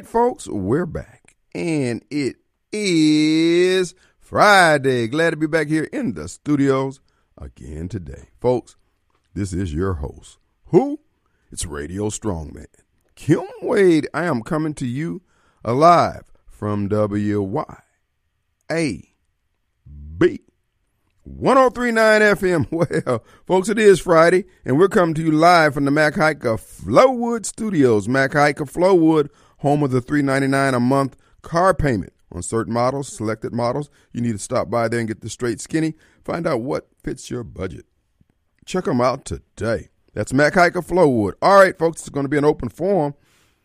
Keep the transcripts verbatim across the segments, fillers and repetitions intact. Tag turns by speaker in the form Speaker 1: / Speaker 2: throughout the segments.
Speaker 1: right, folks, we're back, and it is Friday. Glad to be back here in the studios again today. Folks, this is your host. Who? It's Radio Strongman, Kim Wade. I am coming to you alive from W Y A B one oh three point nine F M. Well, folks, it is Friday, and we're coming to you live from the Mac Haik of Flowood Studios. Mac Haik of Flowood, home of the three ninety-nine a month car payment on certain models, selected models. You need to stop by there and get the straight skinny. Find out what fits your budget. Check them out today. That's Mac Haik of Flowood. All right, folks, it's going to be an open forum,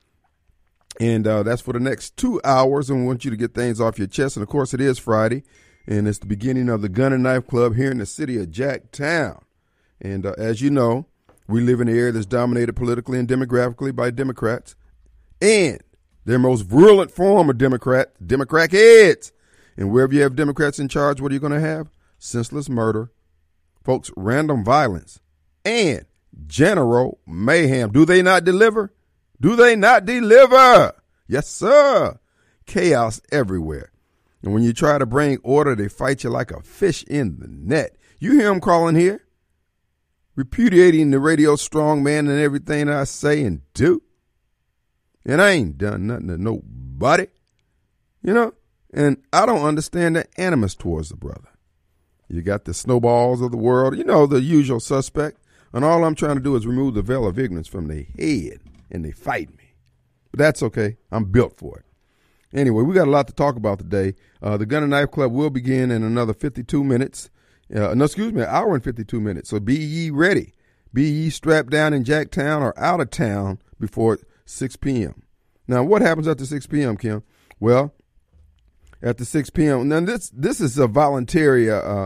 Speaker 1: and uh, that's for the next two hours, and we want you to get things off your chest. And, of course, it is Friday. And it's the beginning of the Gun and Knife Club here in the city of Jacktown. And uh, as you know, we live in an area that's dominated politically and demographically by Democrats. And their most virulent form of Democrat, Democrat heads. And wherever you have Democrats in charge, what are you going to have? Senseless murder, folks, random violence, and general mayhem. Do they not deliver? Do they not deliver? Yes, sir. Chaos everywhere. And when you try to bring order, they fight you like a fish in the net. You hear them calling here, repudiating the Radio Strongman and everything I say and do. And I ain't done nothing to nobody, you know. And I don't understand the animus towards the brother. You got the snowballs of the world, you know, the usual suspect. And all I'm trying to do is remove the veil of ignorance from their head, and they fight me. But that's okay. I'm built for it. Anyway, we got a lot to talk about today. Uh, the Gun and Knife Club will begin in another fifty-two minutes. Uh, no, excuse me, an hour and fifty-two minutes. So be ye ready. Be ye strapped down in Jacktown or out of town before six p.m. Now, what happens after six p.m., Kim? Well, after six p.m., now this this is a voluntary uh,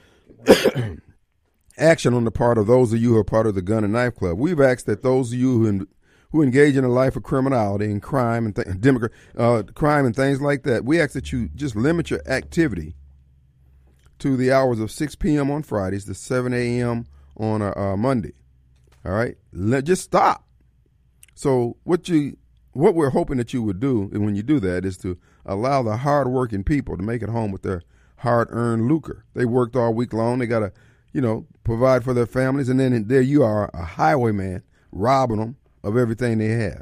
Speaker 1: action on the part of those of you who are part of the Gun and Knife Club. We've asked that those of you who in, who engage in a life of criminality and crime and th- Democrat, uh, crime and things like that, we ask that you just limit your activity to the hours of six p.m. on Fridays to seven a.m. on a, uh, Monday. All right, Let, just stop. So what you, what we're hoping that you would do, and when you do that, is to allow the hardworking people to make it home with their hard-earned lucre. They worked all week long. They got to, you know, provide for their families, and then there you are, a highwayman, robbing them of everything they have.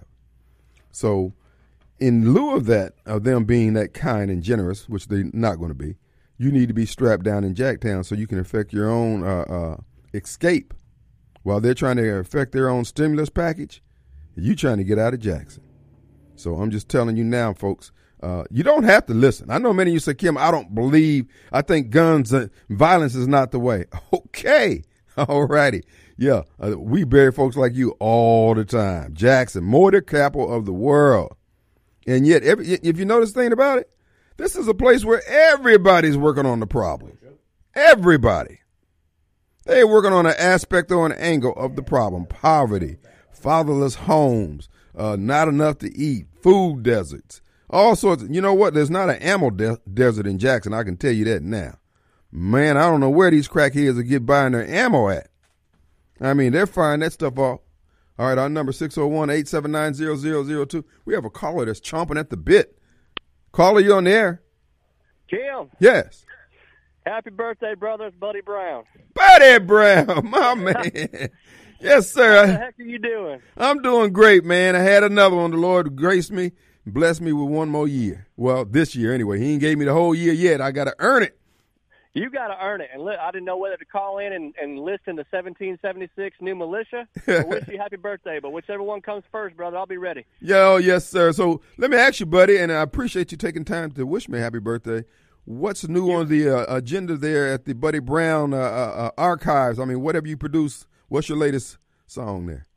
Speaker 1: So in lieu of that, of them being that kind and generous, which they're not going to be, you need to be strapped down in Jacktown so you can effect your own uh, uh, escape. While they're trying to effect their own stimulus package, you trying to get out of Jackson. So I'm just telling you now, folks, uh, you don't have to listen. I know many of you say, Kim, I don't believe, I think guns and violence is not the way. Okay. All righty. Yeah, uh, we bury folks like you all the time. Jackson, motor capital of the world. And yet, every, if you notice the thing about it, this is a place where everybody's working on the problem. Everybody. They're working on an aspect or an angle of the problem. Poverty, fatherless homes, uh, not enough to eat, food deserts, all sorts of, you know what? There's not an ammo de- desert in Jackson. I can tell you that now. Man, I don't know where these crackheads will get buying their ammo at. I mean, they're firing that stuff off. All right, our number six oh one, eight seven nine, zero zero zero two. We have a caller that's chomping at the bit. Caller, you on the air?
Speaker 2: Kim.
Speaker 1: Yes.
Speaker 2: Happy birthday, brother. It's Buddy Brown.
Speaker 1: Buddy Brown, my man. Yes, sir.
Speaker 2: What the heck are you doing?
Speaker 1: I'm doing great, man. I had another one. The Lord graced me, blessed me with one more year. Well, this year anyway. He ain't gave me the whole year yet. I got to earn it.
Speaker 2: You got to earn it. And li- I didn't know whether to call in and, and listen to seventeen seventy-six New Militia or wish you happy birthday. But whichever one comes first, brother, I'll be ready.
Speaker 1: Yo, yes, sir. So let me ask you, buddy, and I appreciate you taking time to wish me happy birthday. What's new on the uh, agenda there at the Buddy Brown uh, uh, archives? I mean, whatever you produce, what's your latest song there?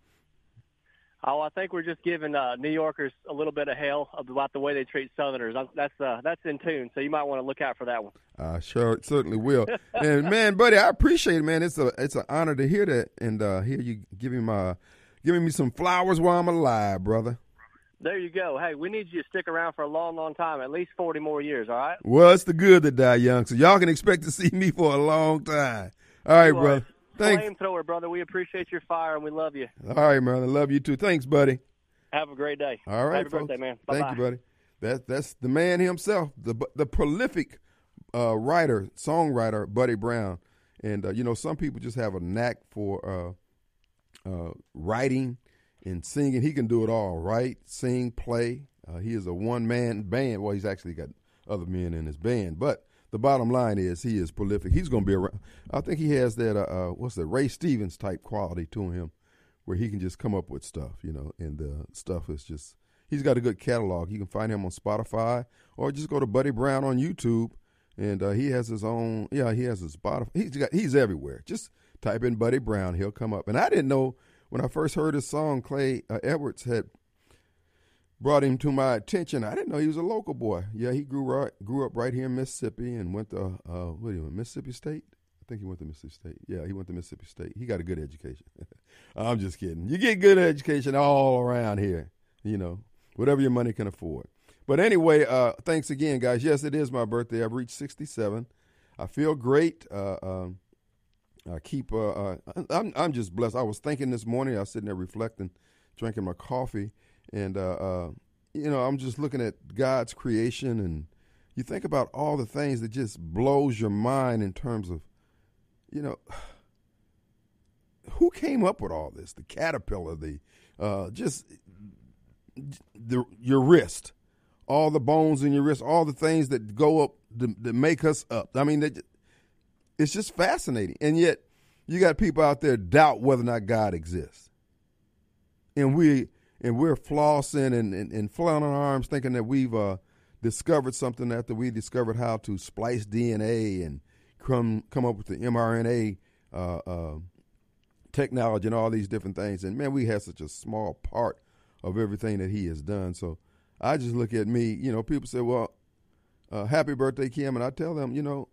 Speaker 2: Oh, I think we're just giving uh, New Yorkers a little bit of hell about the way they treat Southerners. That's uh, that's in tune, so you might want to look out for that one.
Speaker 1: I sure certainly will. And man, buddy, I appreciate it, man. It's a it's an honor to hear that and uh, hear you giving my giving me some flowers while I'm alive, brother.
Speaker 2: There you go. Hey, we need you to stick around for a long, long time, at least forty more years. All right.
Speaker 1: Well, it's the good that die young, so y'all can expect to see me for a long time. All right, brother. Thanks.
Speaker 2: Flamethrower, brother. We appreciate your fire and we love you.
Speaker 1: All right, man. I love you too. Thanks, buddy.
Speaker 2: Have a great day.
Speaker 1: All right,
Speaker 2: Happy
Speaker 1: folks.
Speaker 2: birthday, man.
Speaker 1: Bye-bye. Thank you, buddy. That, that's the man himself, the the prolific uh, writer, songwriter, Buddy Brown. And, uh, you know, some people just have a knack for uh, uh, writing and singing. He can do it all, write, sing, play. Uh, he is a one-man band. Well, he's actually got other men in his band. But the bottom line is he is prolific. He's going to be around. I think he has that, uh, uh, what's that, Ray Stevens type quality to him where he can just come up with stuff, you know, and the stuff is just, he's got a good catalog. You can find him on Spotify or just go to Buddy Brown on YouTube. And uh, he has his own, yeah, he has his Spotify. He's got, he's everywhere. Just type in Buddy Brown, he'll come up. And I didn't know when I first heard his song, Clay uh, Edwards had brought him to my attention. I didn't know he was a local boy. Yeah, he grew right, grew up right here in Mississippi and went to, uh, what do you want, Mississippi State? I think he went to Mississippi State. Yeah, he went to Mississippi State. He got a good education. I'm just kidding. You get good education all around here, you know, whatever your money can afford. But anyway, uh, thanks again, guys. Yes, it is my birthday. I've reached sixty-seven. I feel great. Uh, um, I keep. Uh, uh, I'm. I'm just blessed. I was thinking this morning. I was sitting there reflecting, drinking my coffee, and uh, uh, you know, I'm just looking at God's creation, and you think about all the things that just blows your mind in terms of, you know, who came up with all this? The caterpillar, the uh, just the your wrist. All the bones in your wrist, all the things that go up that, that make us up. I mean, that, it's just fascinating. And yet, you got people out there doubt whether or not God exists. And we and we're flossing and, and, and flailing our arms, thinking that we've uh, discovered something after we discovered how to splice D N A and come come up with the M R N A uh, uh, technology and all these different things. And man, we have such a small part of everything that He has done. So I just look at me, you know, people say, well, uh, happy birthday, Kim. And I tell them, you know,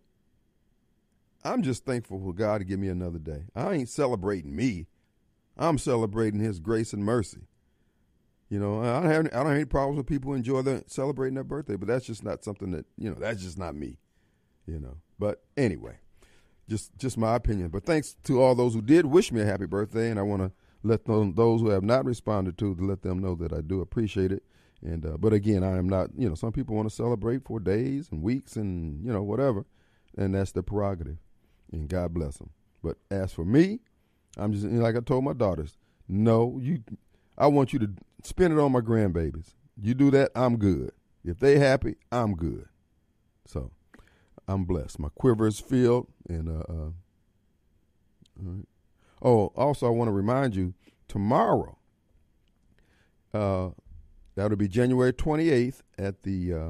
Speaker 1: I'm just thankful for God to give me another day. I ain't celebrating me. I'm celebrating His grace and mercy. You know, I don't have, I don't have any problems with people enjoy their, celebrating their birthday, but that's just not something that, you know, that's just not me, you know. But anyway, just just my opinion. But thanks to all those who did wish me a happy birthday, and I want to let them, those who have not responded to, to let them know that I do appreciate it. And uh, but again, I am not, you know, some people want to celebrate for days and weeks and, you know, whatever, and that's their prerogative, and God bless them. But as for me, I'm just, you know, like I told my daughters, no, you, I want you to spend it on my grandbabies. You do that, I'm good. If they happy, I'm good. So I'm blessed. My quiver is filled. And uh, uh, all right. Oh, also I want to remind you, tomorrow, uh. That'll be January twenty-eighth at the uh,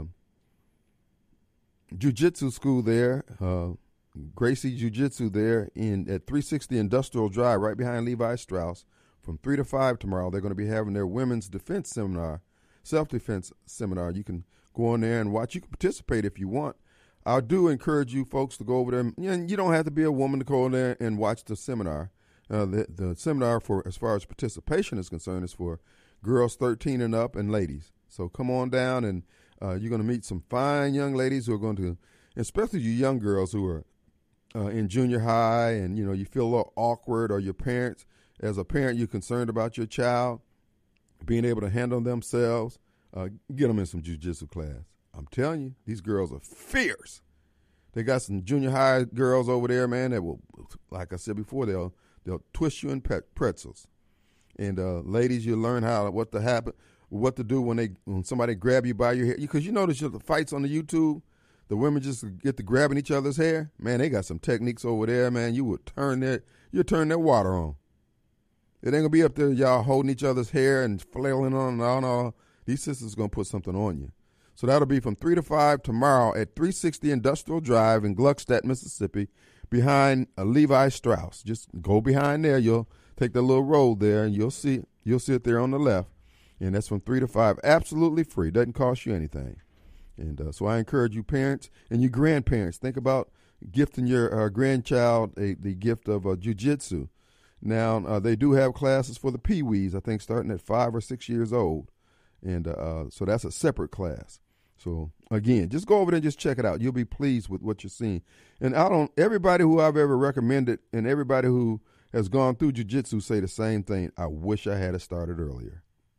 Speaker 1: Jiu-Jitsu school there, uh, Gracie Jiu-Jitsu there in at three sixty Industrial Drive, right behind Levi Strauss. From three to five tomorrow, they're going to be having their women's defense seminar, self-defense seminar. You can go on there and watch. You can participate if you want. I do encourage you folks to go over there. And you don't have to be a woman to go in there and watch the seminar. Uh, the, the seminar, for as far as participation is concerned, is for girls thirteen and up and ladies. So come on down, and uh, you're going to meet some fine young ladies who are going to, especially you young girls who are uh, in junior high and, you know, you feel a little awkward, or your parents, as a parent, you're concerned about your child being able to handle themselves. Uh, get them in some jiu-jitsu class. I'm telling you, these girls are fierce. They got some junior high girls over there, man, that will, like I said before, they'll they'll twist you in pretzels. And uh, ladies, you learn how what to happen, what to do when they when somebody grab you by your hair. Because you notice the fights on the YouTube, the women just get to grabbing each other's hair. Man, they got some techniques over there, man. You would turn their you turn their water on. It ain't gonna be up there, y'all holding each other's hair and flailing on and on. And on. These sisters gonna put something on you. So that'll be from three to five tomorrow at three sixty Industrial Drive in Gluckstadt, Mississippi, behind uh, Levi Strauss. Just go behind there. You'll take the little road there, and you'll see you'll see it there on the left, and that's from three to five, absolutely free. Doesn't cost you anything. And uh, so I encourage you, parents and you grandparents, think about gifting your uh, grandchild a, the gift of uh, jiu-jitsu. Now uh, they do have classes for the pee-wees, I think, starting at five or six years old, and uh, so that's a separate class. So again, just go over there and just check it out. You'll be pleased with what you're seeing. And I don't. Everybody who I've ever recommended, and everybody who has gone through jiu-jitsu say the same thing. I wish I had it started earlier.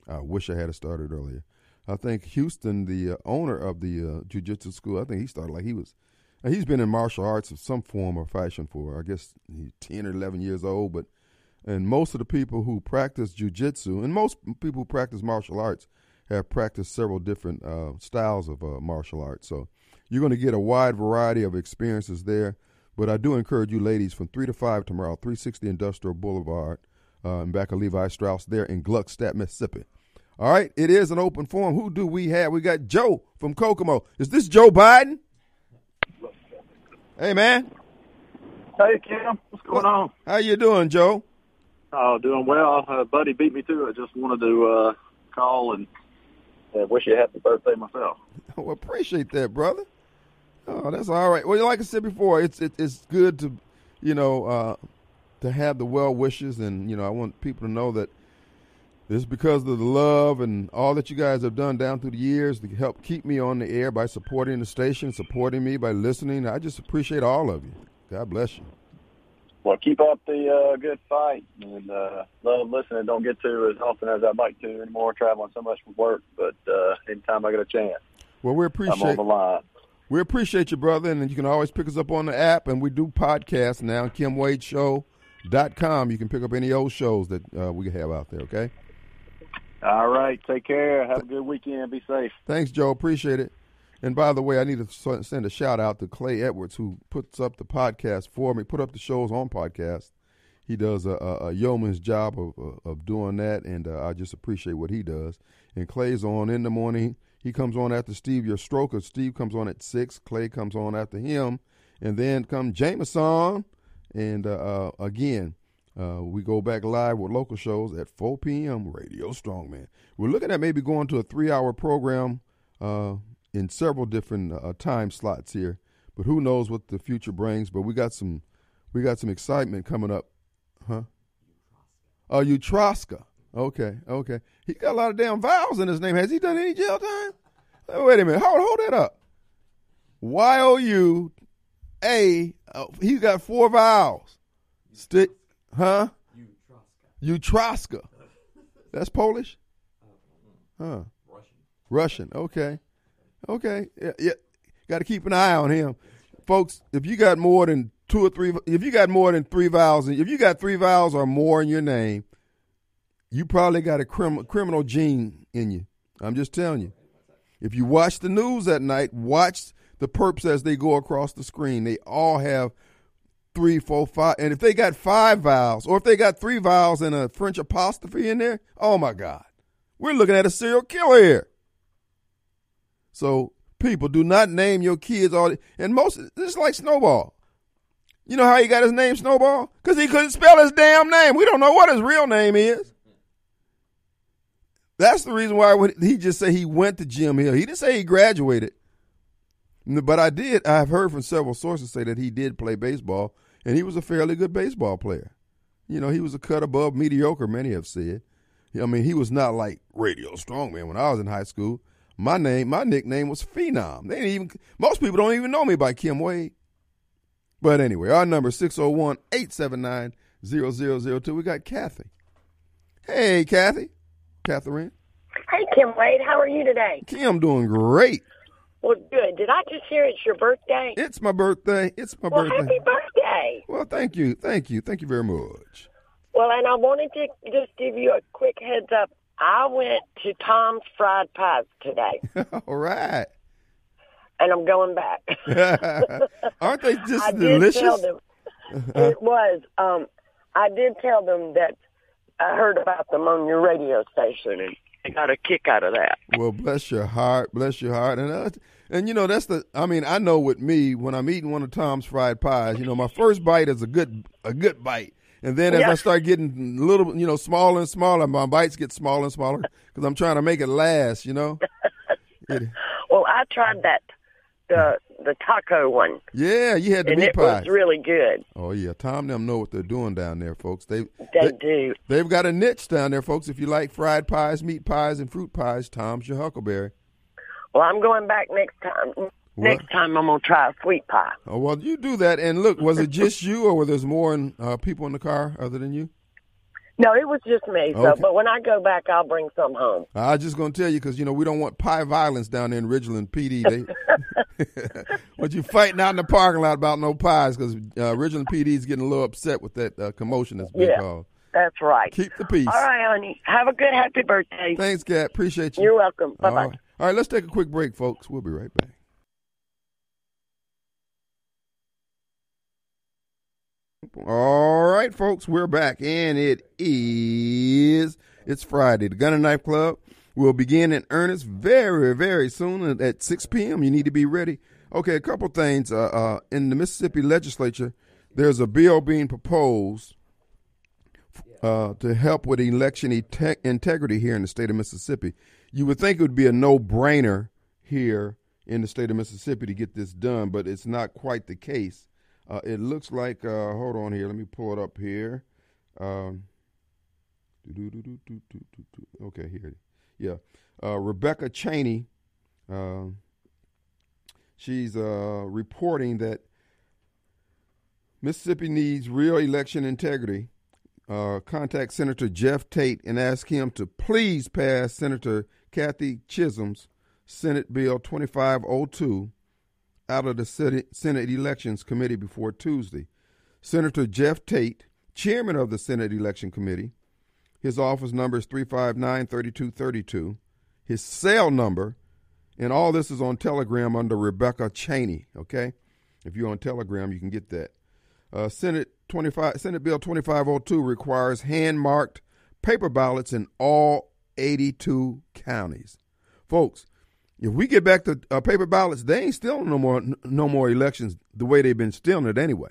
Speaker 1: I wish I had started earlier. I think Houston, the uh, owner of the uh, jiu-jitsu school, I think he started like he was, uh, he's been in martial arts of some form or fashion for, I guess, he's ten or eleven years old. But and most of the people who practice jiu-jitsu, and most people who practice martial arts, have practiced several different uh, styles of uh, martial arts. So you're going to get a wide variety of experiences there. But I do encourage you ladies from three to five tomorrow, three sixty Industrial Boulevard, uh, in back of Levi Strauss there in Gluckstadt, Mississippi. All right, it is an open forum. Who do we have? We got Joe from Kokomo. Is this Joe Biden? Hey, man.
Speaker 3: Hey, Kim. What's going on?
Speaker 1: How you doing, Joe?
Speaker 3: Oh, doing well. Uh, buddy beat me to it. Just wanted to uh, call and uh, wish you a happy birthday myself.
Speaker 1: Oh, appreciate that, brother. Oh, that's all right. Well, like I said before, it's it, it's good to, you know, uh, to have the well wishes, and you know, I want people to know that this is because of the love and all that you guys have done down through the years to help keep me on the air by supporting the station, supporting me by listening. I just appreciate all of you. God bless you.
Speaker 3: Well, keep up the uh, good fight, and uh, love listening. Don't get to as often as I'd like to anymore, traveling so much for work. But uh, anytime I get a chance,
Speaker 1: well, we appreciate.
Speaker 3: I'm on the line.
Speaker 1: We appreciate you, brother, and you can always pick us up on the app, and we do podcasts now. Kim Wade Show dot com. You can pick up any old shows that uh, we have out there. Okay.
Speaker 3: All right. Take care. Have a good weekend. Be safe.
Speaker 1: Thanks, Joe. Appreciate it. And by the way, I need to send a shout out to Clay Edwards, who puts up the podcast for me, put up the shows on podcast. He does a, a, a yeoman's job of, of doing that, and uh, I just appreciate what he does. And Clay's on in the morning. He comes on after Steve, your stroker. Steve comes on at six. Clay comes on after him. And then come Jameson. And, uh, uh, again, uh, we go back live with local shows at four p.m. Radio Strongman. We're looking at maybe going to a three-hour program uh, in several different uh, time slots here. But who knows what the future brings. But we got some we got some excitement coming up. Huh? Oh, Utroska. Okay, okay. He got a lot of damn vowels in his name. Has he done any jail time? Oh, wait a minute. Hold, hold that up. Y O U A. Oh, he's got four vowels. Stick, huh? Utroska. That's Polish? Huh. Russian. Russian. Okay. Okay. Yeah, yeah. Got to keep an eye on him. Folks, if you got more than two or three, if you got more than three vowels, if you got three vowels or more in your name, you probably got a crim- criminal gene in you. I'm just telling you. If you watch the news at night, watch the perps as they go across the screen. They all have three, four, five. And if they got five vowels, or if they got three vowels and a French apostrophe in there, oh, my God. We're looking at a serial killer here. So, people, do not name your kids all. And most, it's like Snowball. You know how he got his name Snowball? Because he couldn't spell his damn name. We don't know what his real name is. That's the reason why he just said he went to Jim Hill. He didn't say he graduated. But I did. I've heard from several sources say that he did play baseball, and he was a fairly good baseball player. You know, he was a cut above mediocre, many have said. I mean, he was not like Radio Strongman when I was in high school. My name, my nickname was Phenom. They didn't even, most people don't even know me by Kim Wade. But anyway, our number is six oh one, eight seven nine, zero zero zero two. We got Kathy. Hey, Kathy. Catherine.
Speaker 4: Hey, Kim Wade. How are you today?
Speaker 1: Kim, doing great.
Speaker 4: Well, good. Did I just hear it's your birthday?
Speaker 1: It's my birthday. It's my
Speaker 4: well,
Speaker 1: birthday.
Speaker 4: Happy birthday.
Speaker 1: Well, thank you. Thank you. Thank you very much.
Speaker 4: Well, and I wanted to just give you a quick heads up. I went to Tom's Fried Pies today.
Speaker 1: All right.
Speaker 4: And I'm going back.
Speaker 1: Aren't they just
Speaker 4: I
Speaker 1: delicious?
Speaker 4: Did tell them, it was. Um, I did tell them that I heard about them on your radio station, and I got a kick out of that.
Speaker 1: Well, bless your heart. Bless your heart. And, uh, and you know, that's the, I mean, I know with me, when I'm eating one of Tom's Fried Pies, you know, my first bite is a good a good bite. And then as
Speaker 4: yeah.
Speaker 1: I start getting a little, you know, smaller and smaller, my bites get smaller and smaller because I'm trying to make it last, you know. it,
Speaker 4: well, I tried that, the the taco one.
Speaker 1: Yeah, you had the
Speaker 4: and
Speaker 1: meat
Speaker 4: it
Speaker 1: pies.
Speaker 4: was really good.
Speaker 1: Oh, yeah. Tom and them know what they're doing down there, folks. They,
Speaker 4: they,
Speaker 1: they
Speaker 4: do.
Speaker 1: They've got a niche down there, folks. If you like fried pies, meat pies, and fruit pies, Tom's your Huckleberry.
Speaker 4: Well, I'm going back next time.
Speaker 1: What?
Speaker 4: Next time I'm going to try a sweet pie.
Speaker 1: Oh, well, you do that. And look, was it just you or were there more in, uh, people in the car other than you?
Speaker 4: No, it was just me. So,
Speaker 1: Okay.
Speaker 4: but when I go back, I'll bring some home.
Speaker 1: I was just going to tell you because, you know, we don't want pie violence down there in Ridgeland P D. They, but you fighting out in the parking lot about no pies because uh, Ridgeland P D is getting a little upset with that uh, commotion that's been
Speaker 4: Yeah.
Speaker 1: called.
Speaker 4: That's right.
Speaker 1: Keep the peace.
Speaker 4: All right, honey. Have a good happy birthday.
Speaker 1: Thanks, Kat. Appreciate you.
Speaker 4: You're welcome.
Speaker 1: All
Speaker 4: Bye-bye.
Speaker 1: right. All right, let's take a quick break, folks. We'll be right back. All right, folks, we're back, and it is, it's Friday. The Gun and Knife Club will begin in earnest very, very soon at six p.m. You need to be ready. Okay, a couple things. Uh, uh, in the Mississippi legislature, there's a bill being proposed uh, to help with election inte- integrity here in the state of Mississippi. You would think it would be a no-brainer here in the state of Mississippi to get this done, but it's not quite the case. Uh, it looks like, uh, hold on here, let me pull it up here. Um, okay, here. Yeah. Uh, Rebecca Cheney, uh, she's uh, reporting that Mississippi needs real election integrity. Uh, contact Senator Jeff Tate and ask him to please pass Senator Kathy Chisholm's Senate Bill twenty-five oh two out of the Senate Elections Committee before Tuesday. Senator Jeff Tate, chairman of the Senate Election Committee, his office number is three five nine, three two three two. His cell number, and all this is on Telegram under Rebecca Cheney, okay? If you're on Telegram, you can get that. Uh, Senate twenty-five Senate Bill twenty-five oh two requires hand-marked paper ballots in all eighty-two counties. Folks, if we get back to uh, paper ballots, they ain't stealing no more no more elections the way they've been stealing it anyway.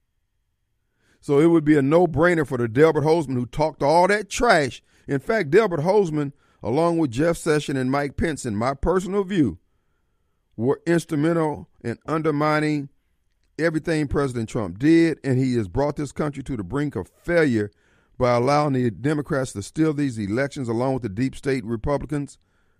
Speaker 1: So it would be a no-brainer for the Delbert Hosemann who talked all that trash. In fact, Delbert Hosemann, along with Jeff Sessions and Mike Pence, in my personal view, were instrumental in undermining everything President Trump did, and he has brought this country to the brink of failure by allowing the Democrats to steal these elections along with the deep state Republicans.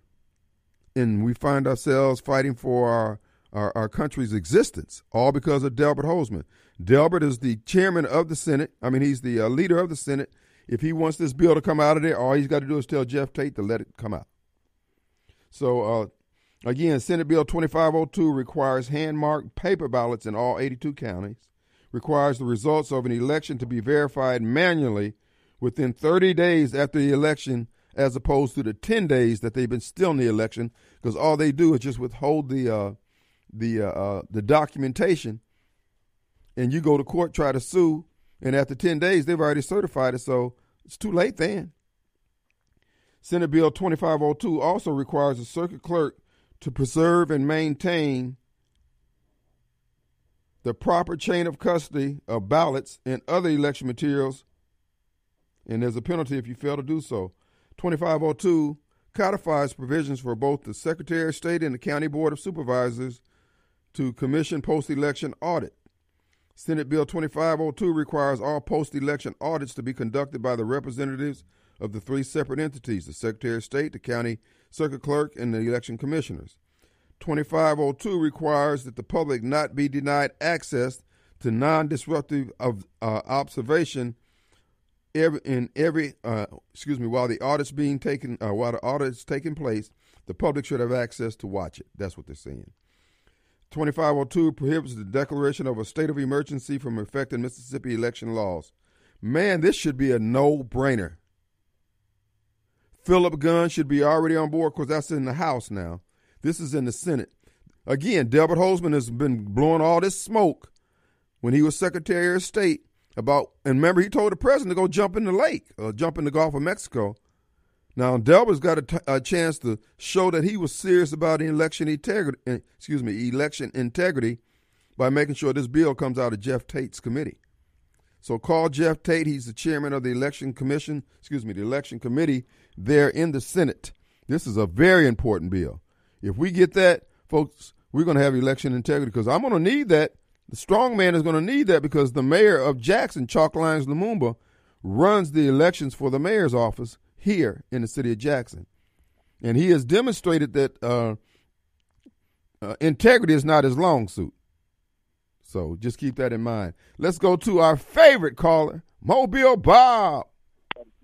Speaker 1: And we find ourselves fighting for our, our, our country's existence, all because of Delbert Hosemann. Delbert is the chairman of the Senate. I mean, he's the uh, leader of the Senate. If he wants this bill to come out of there, all he's got to do is tell Jeff Tate to let it come out. So, uh, again, Senate Bill twenty-five oh two requires hand-marked paper ballots in all eighty-two counties, requires the results of an election to be verified manually within thirty days after the election, as opposed to the ten days that they've been still in the election, because all they do is just withhold the uh, the uh, uh, the documentation, and you go to court, try to sue, and after ten days, they've already certified it, so it's too late then. Senate Bill twenty-five oh two also requires the circuit clerk to preserve and maintain the proper chain of custody of ballots and other election materials, and there's a penalty if you fail to do so. twenty-five oh two codifies provisions for both the Secretary of State and the County Board of Supervisors to commission post-election audit. Senate Bill twenty-five oh two requires all post-election audits to be conducted by the representatives of the three separate entities, the Secretary of State, the County Circuit Clerk, and the election commissioners. twenty-five oh two requires that the public not be denied access to non-disruptive of, uh, observation Every, in every, uh, excuse me, while the audit's being taken, uh, while the audit's taking place, the public should have access to watch it. That's what they're saying. twenty-five oh two prohibits the declaration of a state of emergency from affecting Mississippi election laws. Man, this should be a no-brainer. Philip Gunn should be already on board because that's in the House now. This is in the Senate. Again, Delbert Hosemann has been blowing all this smoke when he was Secretary of State about, and remember, he told the president to go jump in the lake or jump in the Gulf of Mexico. Now, Delbert's got a, t- a chance to show that he was serious about election integrity, excuse me, election integrity by making sure this bill comes out of Jeff Tate's committee. So call Jeff Tate. He's the chairman of the election commission, excuse me, the election committee there in the Senate. This is a very important bill. If we get that, folks, we're going to have election integrity because I'm going to need that. The strong man is going to need that because the mayor of Jackson, Chalk Lyons Lumumba, runs the elections for the mayor's office here in the city of Jackson. And he has demonstrated that uh, uh, integrity is not his long suit. So just keep that in mind. Let's go to our favorite caller, Mobile Bob.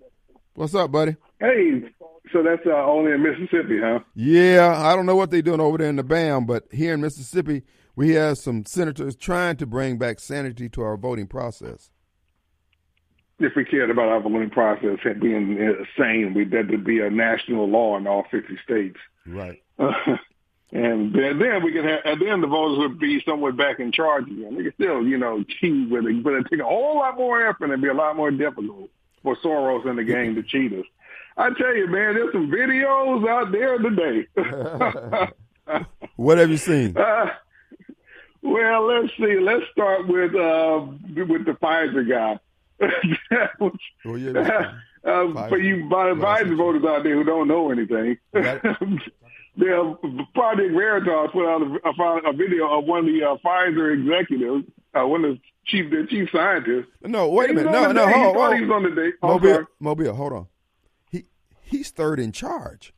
Speaker 1: What's up, buddy?
Speaker 5: Hey, so that's uh, only in Mississippi, huh?
Speaker 1: Yeah, I don't know what they're doing over there in the B A M, but here in Mississippi, we have some senators trying to bring back sanity to our voting process.
Speaker 5: If we cared about our voting process being sane, we that would be a national law in all fifty states.
Speaker 1: Right.
Speaker 5: Uh, and then, then we could have, and then the voters would be somewhat back in charge again. They could still, you know, cheat with it, but it'd take a whole lot more effort and it'd be a lot more difficult for Soros in the game to cheat us. I tell you, man, there's some videos out there today.
Speaker 1: What have you seen?
Speaker 5: Uh, well, let's see. Let's start with uh, with the Pfizer guy. was,
Speaker 1: oh, yeah,
Speaker 5: uh, for you Pfizer voters out there who don't know anything, the Project Veritas put out a, a video of one of the uh, Pfizer executives, uh, one of the chief, their chief scientists.
Speaker 1: No, wait a minute. No, no,
Speaker 5: day.
Speaker 1: hold
Speaker 5: he
Speaker 1: on.
Speaker 5: He was on the day. Oh,
Speaker 1: Mobile, Mobile, hold on. He he's third in charge.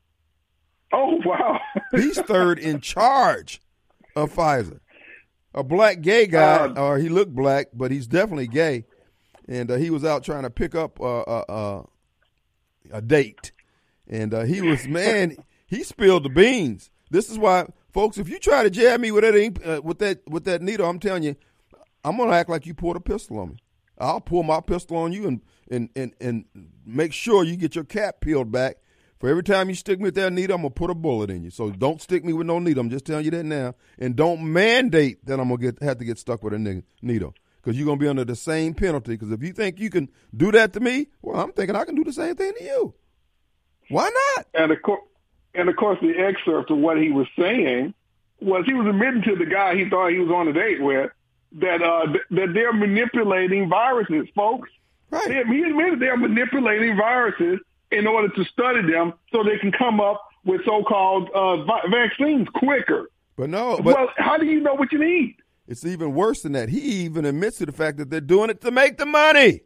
Speaker 5: Oh wow,
Speaker 1: he's third in charge of Pfizer. A black gay guy, uh, or he looked black, but he's definitely gay. And uh, he was out trying to pick up uh, uh, uh, a date. And uh, he was, man, he spilled the beans. This is why, folks, if you try to jab me with that ink, uh, with that with that needle, I'm telling you, I'm going to act like you pulled a pistol on me. I'll pull my pistol on you and, and, and, and make sure you get your cap peeled back. For every time you stick me with that needle, I'm going to put a bullet in you. So don't stick me with no needle. I'm just telling you that now. And don't mandate that I'm going to get have to get stuck with a needle. Because you're going to be under the same penalty. Because if you think you can do that to me, well, I'm thinking I can do the same thing to you. Why not?
Speaker 5: And of course, and of course, the excerpt of what he was saying was he was admitting to the guy he thought he was on a date with that uh, th- that they're manipulating viruses, folks.
Speaker 1: Right.
Speaker 5: They, he admitted they're manipulating viruses in order to study them so they can come up with so-called uh, vi- vaccines quicker.
Speaker 1: But no. But
Speaker 5: well, how do you know what you need?
Speaker 1: It's even worse than that. He even admits to the fact that they're doing it to make the money.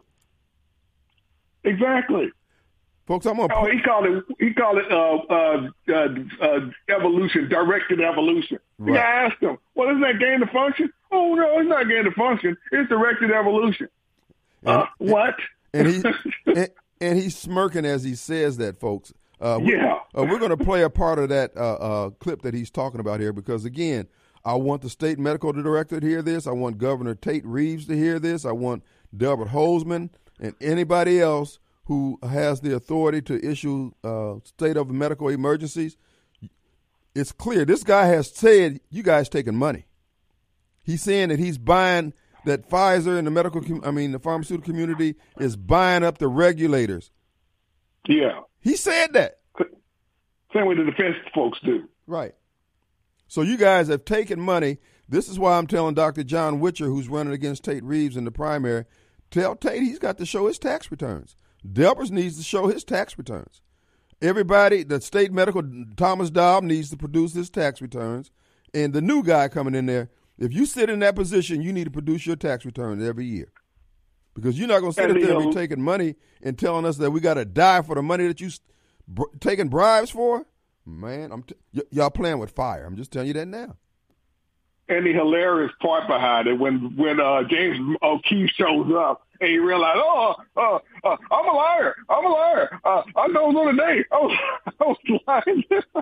Speaker 5: Exactly.
Speaker 1: Folks, I'm going to...
Speaker 5: Oh, he called it, he called it uh, uh, uh, uh, evolution, directed evolution. Right. I asked him, well, isn't that gain of function? Oh, no, it's not gain of function. It's directed evolution.
Speaker 1: And,
Speaker 5: uh, what?
Speaker 1: And, he, and, and he's smirking as he says that, folks. Uh, we,
Speaker 5: yeah.
Speaker 1: uh, we're going to play a part of that uh, uh, clip that he's talking about here because, again, I want the state medical director to hear this. I want Governor Tate Reeves to hear this. I want Delbert Hosemann and anybody else who has the authority to issue uh, state of medical emergencies. It's clear. This guy has said, you guys taking money. He's saying that he's buying, that Pfizer and the medical, I mean, the pharmaceutical community is buying up the regulators.
Speaker 5: Yeah.
Speaker 1: He said that.
Speaker 5: Same way the defense folks do.
Speaker 1: Right. So you guys have taken money. This is why I'm telling Doctor John Witcher, who's running against Tate Reeves in the primary, tell Tate he's got to show his tax returns. Delbert needs to show his tax returns. Everybody, the state medical, Thomas Dobb needs to produce his tax returns. And the new guy coming in there, if you sit in that position, you need to produce your tax returns every year. Because you're not going to sit there and be taking money and telling us that we got to die for the money that you br- taking bribes for. Man, I'm t- y- y'all playing with fire. I'm just telling you that now.
Speaker 5: And the hilarious part behind it, when when uh, James O'Keefe shows up and you realize, oh, uh, uh, I'm a liar. I'm a liar. Uh, I know it was on the day. I was, I was lying.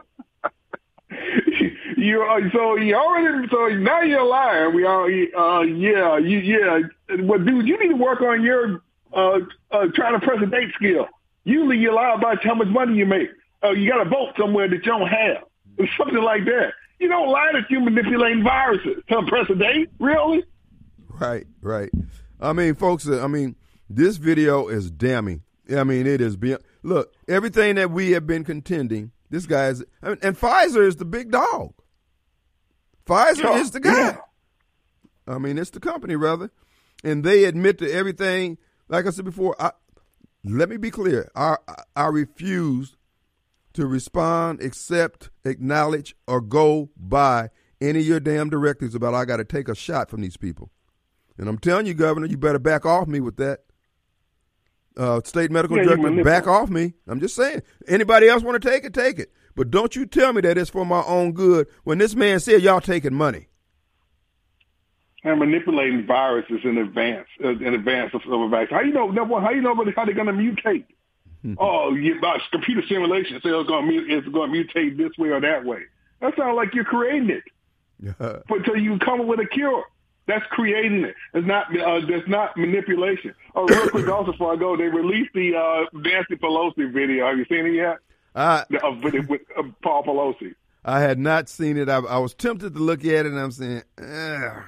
Speaker 5: you uh, so you already so now you're a liar. We all uh, yeah you yeah. But dude, you need to work on your uh, uh, trying to press a date skill. Usually you lie about how much money you make. Uh, you got to vote somewhere that you don't have. Or something like that. You don't lie that you're manipulating viruses to press a date, really?
Speaker 1: Right, right. I mean, folks, I mean, this video is damning. I mean, it is beyond. Look, everything that we have been contending, this guy is, and Pfizer is the big dog. Pfizer oh, is the guy. Yeah. I mean, it's the company, rather. And they admit to everything. Like I said before, I, let me be clear. I, I refuse to respond, accept, acknowledge, or go by any of your damn directives about I got to take a shot from these people. And I'm telling you, Governor, you better back off me with that. Uh, state medical yeah, director, back off me. I'm just saying. Anybody else want to take it, take it. But don't you tell me that it's for my own good when this man said y'all taking money.
Speaker 5: And manipulating viruses in advance, uh, in advance of, of a vaccine. How you know? Number one, how you know how they're going to mutate? oh, yeah, about computer simulation, so it's going to it's going to mutate this way or that way. That sounds like you're creating it, but until you come up with a cure. That's creating it. It's not. Uh, that's not manipulation. Oh, real quick, also before I go, they released the uh, Nancy Pelosi video. Have you seen it yet?
Speaker 1: Uh,
Speaker 5: the, uh, with, with uh, Paul Pelosi.
Speaker 1: I had not seen it. I, I was tempted to look at it, and I'm saying, Ugh.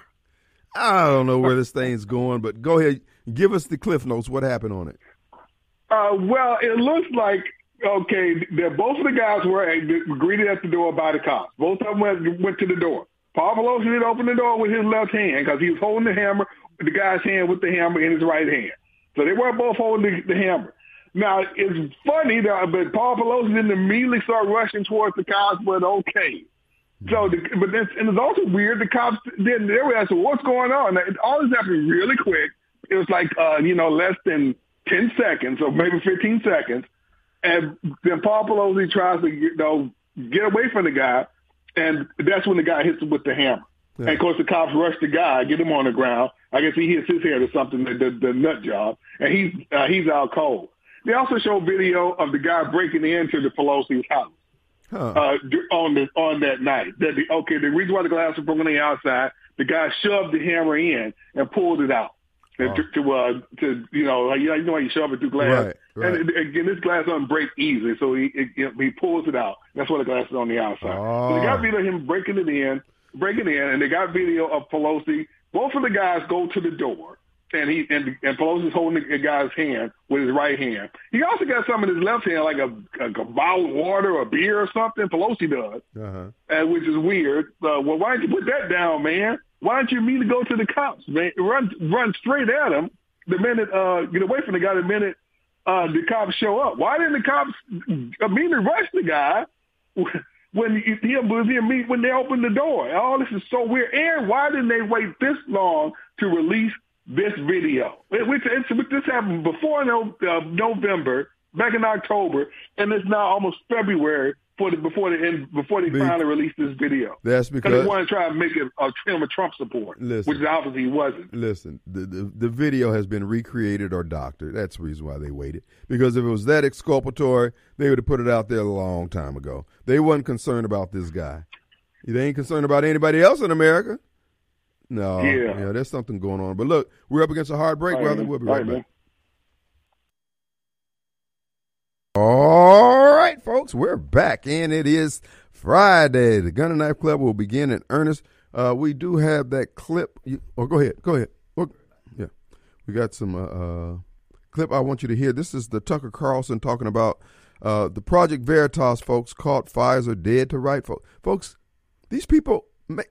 Speaker 1: I don't know where this thing's going. But go ahead, give us the cliff notes. What happened on it?
Speaker 5: Uh, well, it looks like okay. That both of the guys were greeted at the door by the cops. Both of them went, went to the door. Paul Pelosi did open the door with his left hand because he was holding the hammer, the guy's hand with the hammer in his right hand. So they were both holding the, the hammer. Now, it's funny that but Paul Pelosi didn't immediately start rushing towards the cops, but okay. So, the, but then, and it's also weird, the cops didn't, they were asking, what's going on? Now, all this happened really quick. It was like, uh, you know, less than ten seconds or maybe fifteen seconds. And then Paul Pelosi tries to, you know, get away from the guy. And that's when the guy hits him with the hammer. Yeah. And, of course, the cops rush the guy, get him on the ground. I guess he hits his head or something, the, the, the nut job, and he's uh, he's out cold. They also show video of the guy breaking into the Pelosi's house huh. uh, on the on that night. That the, okay, the reason why the glass was broken on the outside, the guy shoved the hammer in and pulled it out. Oh. To, to, uh, to you know, you know how you shove it through glass.
Speaker 1: Right, right.
Speaker 5: And again, this glass doesn't break easily, so he it, he pulls it out. That's why the glass is on the outside.
Speaker 1: Oh.
Speaker 5: So they got video of him breaking it in, breaking it in, and they got video of Pelosi. Both of the guys go to the door, and he and, and Pelosi's holding the guy's hand with his right hand. He also got some in his left hand, like a, a, a bottle of water or beer or something. Pelosi does, uh-huh. uh, which is weird. Uh, well, why didn't you put that down, man? Why don't you mean to go to the cops, man? Run, run straight at him the minute, uh, get away from the guy the minute uh, the cops show up. Why didn't the cops immediately rush the guy when he, he, when they opened the door? All this is so weird. And why didn't they wait this long to release this video? It, it's, it's, this happened before no, uh, November, back in October, and it's now almost February. For the, before they end, before they Be, finally released this video,
Speaker 1: that's because
Speaker 5: they want to try to make it a film of Trump support,
Speaker 1: listen,
Speaker 5: which obviously he wasn't.
Speaker 1: Listen, the, the the video has been recreated or doctored. That's the reason why they waited. Because if it was that exculpatory, they would have put it out there a long time ago. They wasn't concerned about this guy. They ain't concerned about anybody else in America. No,
Speaker 5: yeah,
Speaker 1: yeah there's something going on. But look, we're up against a hard break, brother. We'll be right, right back. Man. All right, folks, we're back, and it is Friday. The Gun and Knife Club will begin in earnest. Uh, we do have that clip. You, oh, go ahead. Go ahead. Oh, yeah, we got some uh, uh, clip I want you to hear. This is the Tucker Carlson talking about uh, the Project Veritas folks caught Pfizer dead to right. Folks, folks these people,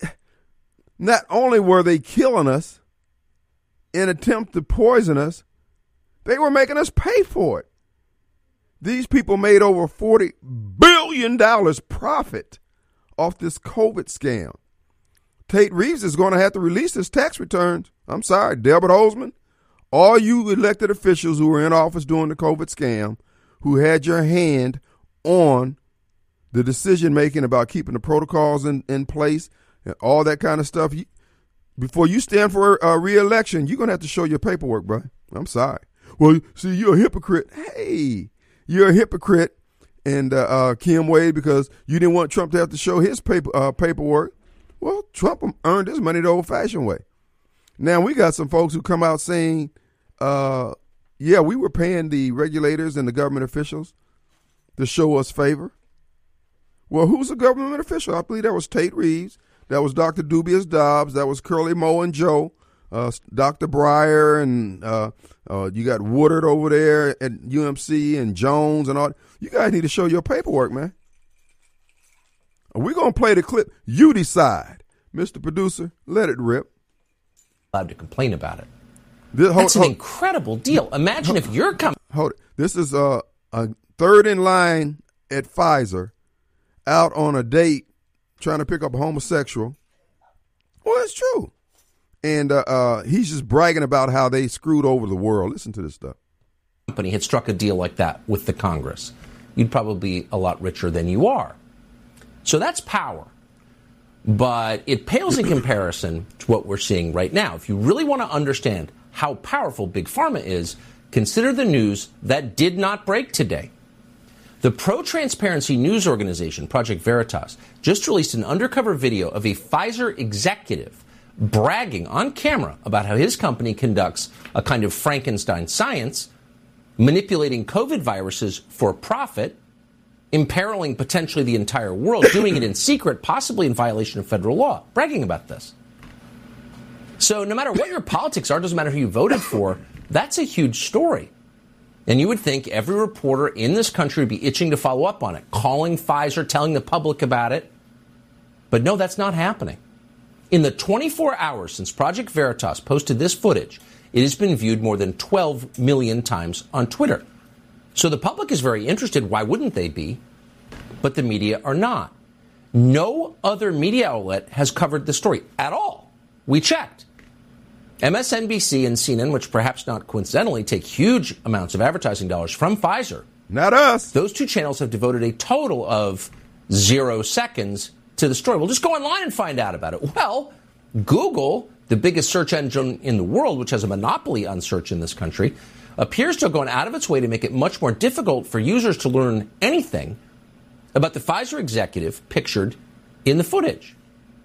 Speaker 1: not only were they killing us in an attempt to poison us, they were making us pay for it. These people made over forty billion dollars profit off this COVID scam. Tate Reeves is going to have to release his tax returns. I'm sorry, Delbert Hosemann, all you elected officials who were in office during the COVID scam, who had your hand on the decision-making about keeping the protocols in, in place and all that kind of stuff, you, before you stand for a re-election, you're going to have to show your paperwork, bro. I'm sorry. Well, see, you're a hypocrite. Hey. You're a hypocrite, and uh, uh, Kim Wade, because you didn't want Trump to have to show his paper uh, paperwork. Well, Trump earned his money the old-fashioned way. Now, we got some folks who come out saying, uh, yeah, we were paying the regulators and the government officials to show us favor. Well, who's a government official? I believe that was Tate Reeves. That was Doctor Dubious Dobbs. That was Curly Moe and Joe. Uh, Doctor Breyer, and uh, uh, you got Woodard over there at U M C, and Jones and all. You guys need to show your paperwork, man. We're going to play the clip. You decide. Mister Producer, let it rip.
Speaker 6: Allowed to complain about it.
Speaker 1: This, hold,
Speaker 6: That's an
Speaker 1: hold,
Speaker 6: incredible deal. Imagine
Speaker 1: hold,
Speaker 6: if you're coming.
Speaker 1: Hold it. This is uh, a third in line at Pfizer, out on a date trying to pick up a homosexual. Well, it's true. And uh, uh, he's just bragging about how they screwed over the world. Listen to this stuff.
Speaker 6: Company had struck a deal like that with the Congress, you'd probably be a lot richer than you are. So that's power. But it pales in comparison to what we're seeing right now. If you really want to understand how powerful Big Pharma is, consider the news that did not break today. The pro-transparency news organization, Project Veritas, just released an undercover video of a Pfizer executive bragging on camera about how his company conducts a kind of Frankenstein science, manipulating COVID viruses for profit, imperiling potentially the entire world, doing it in secret, possibly in violation of federal law, bragging about this. So no matter what your politics are, doesn't matter who you voted for, that's a huge story. And you would think every reporter in this country would be itching to follow up on it, calling Pfizer, telling the public about it. But no, that's not happening. In the twenty-four hours since Project Veritas posted this footage, it has been viewed more than twelve million times on Twitter. So the public is very interested. Why wouldn't they be? But the media are not. No other media outlet has covered the story at all. We checked. M S N B C and C N N, which perhaps not coincidentally take huge amounts of advertising dollars from Pfizer.
Speaker 1: Not us.
Speaker 6: Those two channels have devoted a total of zero seconds to the story. Well, just go online and find out about it. Well, Google, the biggest search engine in the world, which has a monopoly on search in this country, appears to have gone out of its way to make it much more difficult for users to learn anything about the Pfizer executive pictured in the footage.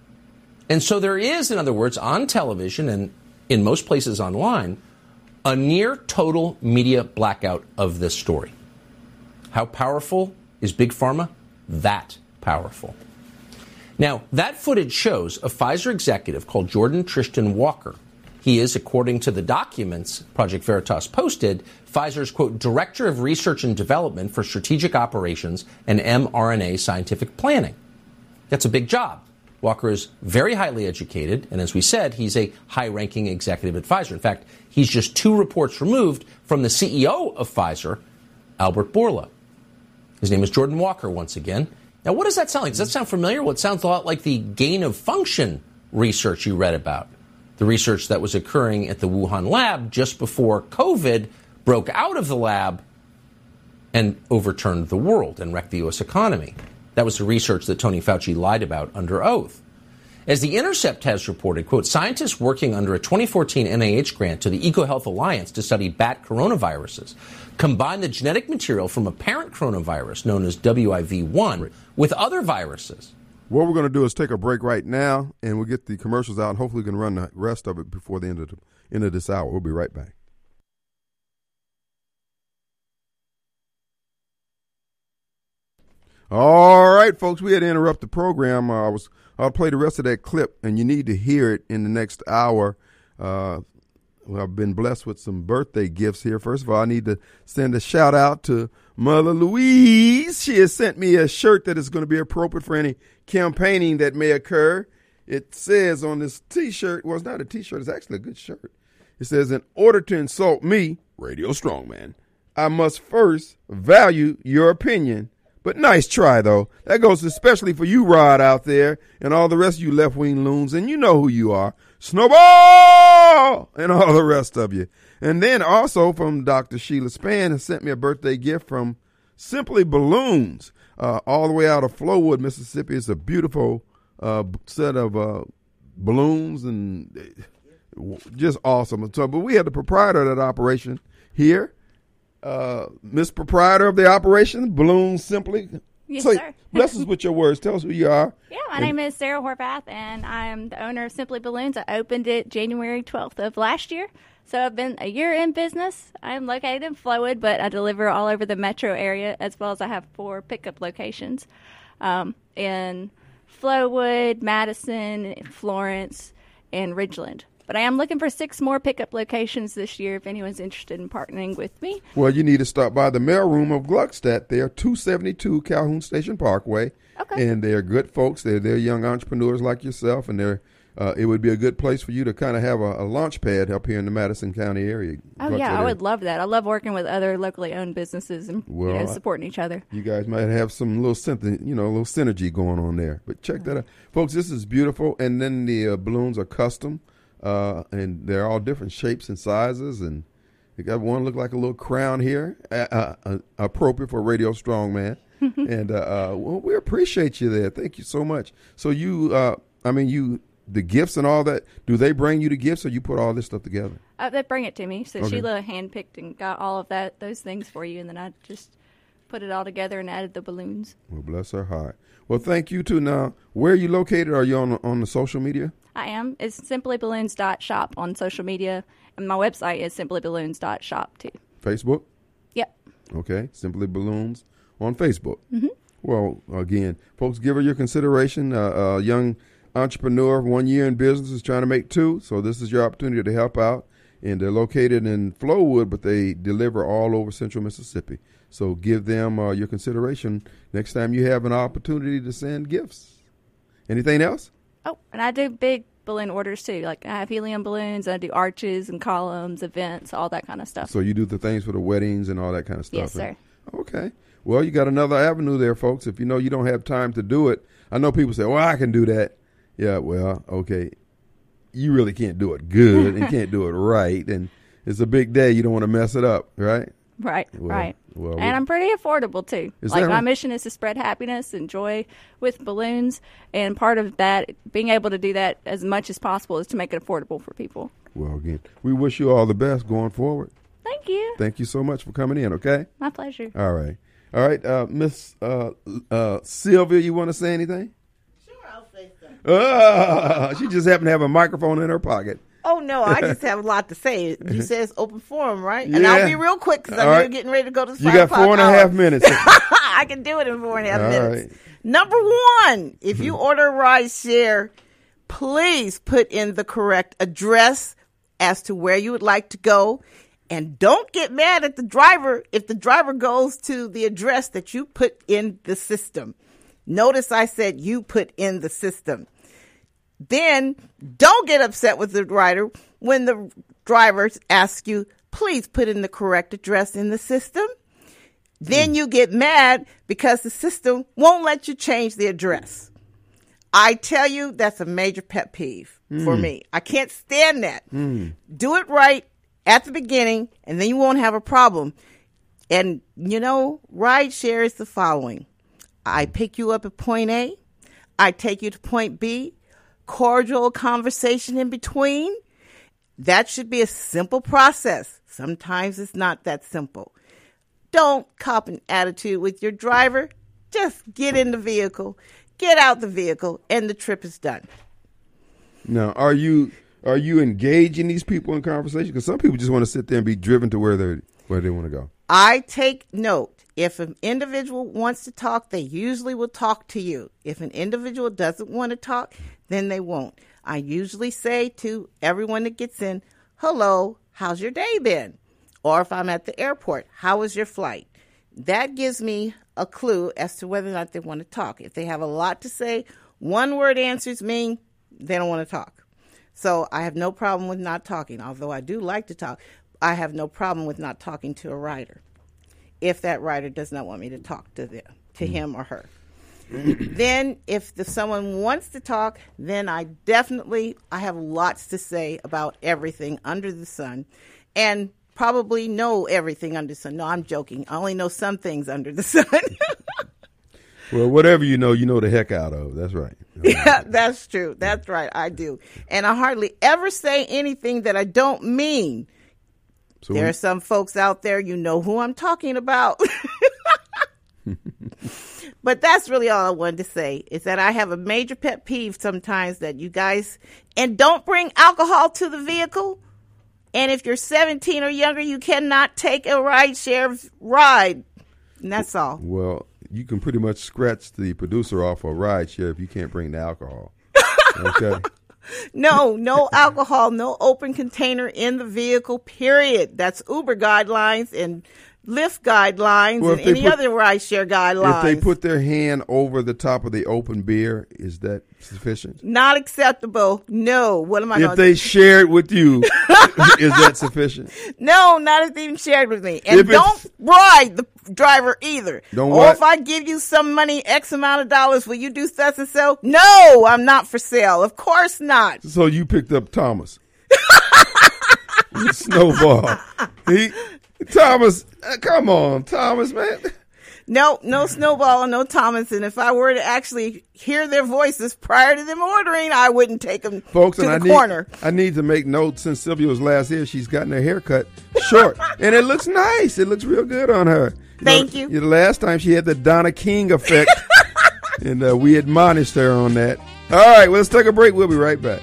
Speaker 6: And so there is, in other words, on television and in most places online, a near total media blackout of this story. How powerful is Big Pharma? That powerful. Now, that footage shows a Pfizer executive called Jordan Tristan Walker. He is, according to the documents Project Veritas posted, Pfizer's, quote, Director of Research and Development for Strategic Operations and mRNA Scientific Planning. That's a big job. Walker is very highly educated, and as we said, he's a high-ranking executive at Pfizer. In fact, he's just two reports removed from the C E O of Pfizer, Albert Bourla. His name is Jordan Walker, once again. Now, what does that sound like? Does that sound familiar? Well, it sounds a lot like the gain-of-function research you read about, the research that was occurring at the Wuhan lab just before COVID broke out of the lab and overturned the world and wrecked the U S economy. That was the research that Tony Fauci lied about under oath. As The Intercept has reported, quote, scientists working under a twenty fourteen N I H grant to the EcoHealth Alliance to study bat coronaviruses combined the genetic material from a parent coronavirus known as W I V one with other viruses.
Speaker 1: What we're going to do is take a break right now, and we'll get the commercials out, and hopefully we can run the rest of it before the end of the end of this hour. We'll be right back. All right, folks, we had to interrupt the program. Uh, I was, I'll play the rest of that clip, and you need to hear it in the next hour. Uh, well, I've been blessed with some birthday gifts here. First of all, I need to send a shout out to Mother Louise. She has sent me a shirt that is going to be appropriate for any campaigning that may occur. It says on this T-shirt, well, it's not a T-shirt, it's actually a good shirt. It says, in order to insult me, Radio Strongman, I must first value your opinion. But nice try, though. That goes especially for you, Rod, out there, and all the rest of you left-wing loons, and you know who you are. Snowball! And all the rest of you. And then also from Doctor Sheila Span has sent me a birthday gift from Simply Balloons, uh, all the way out of Flowood, Mississippi. It's a beautiful uh, set of uh, balloons and just awesome. So, but we had the proprietor of that operation here. Uh, Miss Proprietor of the operation, Balloons Simply.
Speaker 7: Yes,
Speaker 1: so,
Speaker 7: sir.
Speaker 1: Bless us with your words. Tell us who you are.
Speaker 7: Yeah, my
Speaker 1: and,
Speaker 7: name is Sarah Horvath, and I'm the owner of Simply Balloons. I opened it January twelfth of last year, so I've been a year in business. I'm located in Flowood, but I deliver all over the metro area, as well as I have four pickup locations um, in Flowood, Madison, Florence, and Ridgeland. But I am looking for six more pickup locations this year if anyone's interested in partnering with me.
Speaker 1: Well, you need to stop by the mailroom of Gluckstadt. They're two seventy-two Calhoun Station Parkway.
Speaker 7: Okay.
Speaker 1: And they're good folks. They're, they're young entrepreneurs like yourself, and they're uh, it would be a good place for you to kind of have a, a launch pad up here in the Madison County area.
Speaker 7: Oh, yeah, I would love that. I love working with other locally owned businesses and
Speaker 1: well,
Speaker 7: you know, supporting each other.
Speaker 1: You guys might have some little something, you know, a little synergy going on there. But check that out. Folks, this is beautiful. And then the uh, balloons are custom. Uh, and they're all different shapes and sizes, and they got one look like a little crown here, uh, uh, appropriate for Radio Strongman. and uh, uh, well, we appreciate you there. Thank you so much. So you, uh, I mean, you the gifts and all that, do they bring you the gifts or you put all this stuff together?
Speaker 7: Uh, they bring it to me. So
Speaker 1: Okay.
Speaker 7: Sheila handpicked and got all of that, those things for you, and then I just put it all together and added the balloons.
Speaker 1: Well, bless her heart. Well, thank you too. Now, where are you located? Are you on on the social media?
Speaker 7: I am. It's simply balloons dot shop on social media, and my website is simply balloons dot shop too.
Speaker 1: Facebook?
Speaker 7: Yep.
Speaker 1: Okay, Simply Balloons on Facebook. Mm-hmm. Well, again, folks, give her your consideration. Uh, a young entrepreneur, one year in business, is trying to make two, so this is your opportunity to help out. And they're located in Flowood, but they deliver all over central Mississippi. So give them uh, your consideration next time you have an opportunity to send gifts. Anything else?
Speaker 7: Oh, and I do big balloon orders too. Like I have helium balloons, I do arches and columns, events, all that kind of stuff.
Speaker 1: So you do the things for the weddings and all that kind of stuff?
Speaker 7: Yes, sir.
Speaker 1: Okay. Well, you got another avenue there, folks. If you know you don't have time to do it, I know people say, well, I can do that. Yeah, well, okay. You really can't do it good and can't do it right. And it's a big day. You don't want to mess it up, right?
Speaker 7: Right,
Speaker 1: Well,
Speaker 7: right.
Speaker 1: well,
Speaker 7: and
Speaker 1: we-
Speaker 7: I'm pretty affordable too.
Speaker 1: Is
Speaker 7: Like
Speaker 1: that
Speaker 7: my
Speaker 1: right?
Speaker 7: mission is to spread happiness and joy with balloons, and part of that, being able to do that as much as possible, is to make it affordable for people.
Speaker 1: Well, again, we wish you all the best going forward.
Speaker 7: Thank you.
Speaker 1: Thank you so much for coming in, okay?
Speaker 7: My pleasure.
Speaker 1: All right. All right, uh, Miss uh, uh, Sylvia, you want to say anything?
Speaker 8: Sure, I'll say something.
Speaker 1: Uh, she just happened to have a microphone in her pocket.
Speaker 8: Oh, no, I just have a lot to say. You said it's open forum, right? And
Speaker 1: Yeah.
Speaker 8: I'll be real quick because I
Speaker 1: All
Speaker 8: know
Speaker 1: right.
Speaker 8: you're getting ready to go to the
Speaker 1: You
Speaker 8: five
Speaker 1: got four and a
Speaker 8: o'clock
Speaker 1: half
Speaker 8: hour.
Speaker 1: minutes.
Speaker 8: I can do it in four and a half
Speaker 1: All
Speaker 8: minutes.
Speaker 1: right.
Speaker 8: Number one, if you order a ride share, please put in the correct address as to where you would like to go. And don't get mad at the driver if the driver goes to the address that you put in the system. Notice I said you put in the system. Then don't get upset with the rider when the driver asks you, please put in the correct address in the system. Then you get mad because the system won't let you change the address. I tell you, that's a major pet peeve for me. I can't stand that. Do it right at the beginning, and then you won't have a problem. And, you know, ride share is the following. I pick you up at point A. I take you to point B. Cordial conversation in between. That should be a simple process. Sometimes it's not that simple. Don't cop an attitude with your driver. Just get in the vehicle, get out the vehicle, and the trip is done.
Speaker 1: Now, are you are you engaging these people in conversation? Because some people just want to sit there and be driven to where they where they want to go.
Speaker 8: I take note. If an individual wants to talk, they usually will talk to you. If an individual doesn't want to talk, then they won't. I usually say to everyone that gets in, hello, how's your day been? Or if I'm at the airport, how was your flight? That gives me a clue as to whether or not they want to talk. If they have a lot to say, one word answers mean they don't want to talk. So I have no problem with not talking, although I do like to talk. I have no problem with not talking to a rider if that rider does not want me to talk to them, to him or her. Then if the, someone wants to talk, then I definitely, I have lots to say about everything under the sun and probably know everything under the sun. No, I'm joking. I only know some things under the sun.
Speaker 1: Well, whatever you know, you know the heck out of. That's right.
Speaker 8: Yeah, that's true. That's right. I do. And I hardly ever say anything that I don't mean.
Speaker 1: So
Speaker 8: There
Speaker 1: when-
Speaker 8: are some folks out there, you know who I'm talking about. But that's really all I wanted to say, is that I have a major pet peeve sometimes that you guys, and don't bring alcohol to the vehicle. And if you're seventeen or younger, you cannot take a ride share ride. And that's all.
Speaker 1: Well, you can pretty much scratch the producer off a ride share if you can't bring the alcohol. Okay.
Speaker 8: No, no alcohol, no open container in the vehicle, period. That's Uber guidelines and Lyft guidelines
Speaker 1: Well,
Speaker 8: and
Speaker 1: if they
Speaker 8: any
Speaker 1: put-
Speaker 8: other rideshare guidelines.
Speaker 1: If they put their hand over the top of the open beer, is that sufficient?
Speaker 8: Not acceptable. No. What am I
Speaker 1: If
Speaker 8: going to
Speaker 1: they share it with you, is that sufficient?
Speaker 8: No, not if they even shared with me. And
Speaker 1: If it's-
Speaker 8: don't bribe the driver either.
Speaker 1: Don't
Speaker 8: or
Speaker 1: what?
Speaker 8: if I give you some money, X amount of dollars, will you do such and so? No, I'm not for sale. Of course not.
Speaker 1: So you picked up Thomas. Snowball. He, Thomas, uh, come on, Thomas, man.
Speaker 8: No, no Snowball, no Thomas. And if I were to actually hear their voices prior to them ordering, I wouldn't take them
Speaker 1: Folks,
Speaker 8: to
Speaker 1: and
Speaker 8: the
Speaker 1: I
Speaker 8: corner.
Speaker 1: Need, I need to make note, since Sylvia was last here, she's gotten her hair cut short. And it looks nice. It looks real good on her. You
Speaker 8: Thank
Speaker 1: know,
Speaker 8: you.
Speaker 1: The last time she had the Donna King effect. And uh, we admonished her on that. All right, well, let's take a break. We'll be right back.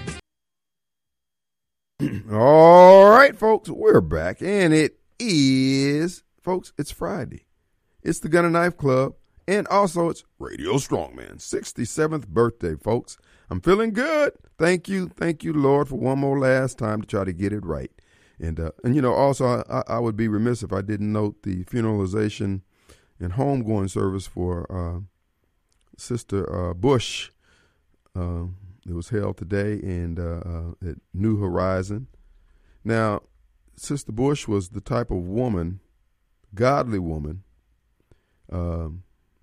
Speaker 1: All right, folks, we're back. And it is, folks, it's Friday. It's the Gun and Knife Club. And also, it's Radio Strongman, sixty-seventh birthday, folks. I'm feeling good. Thank you. Thank you, Lord, for one more last time to try to get it right. And, uh, and you know, also, I, I would be remiss if I didn't note the funeralization and homegoing service for uh, Sister uh, Bush. Uh, it was held today and uh, uh, at New Horizon. Now, Sister Bush was the type of woman, godly woman, um,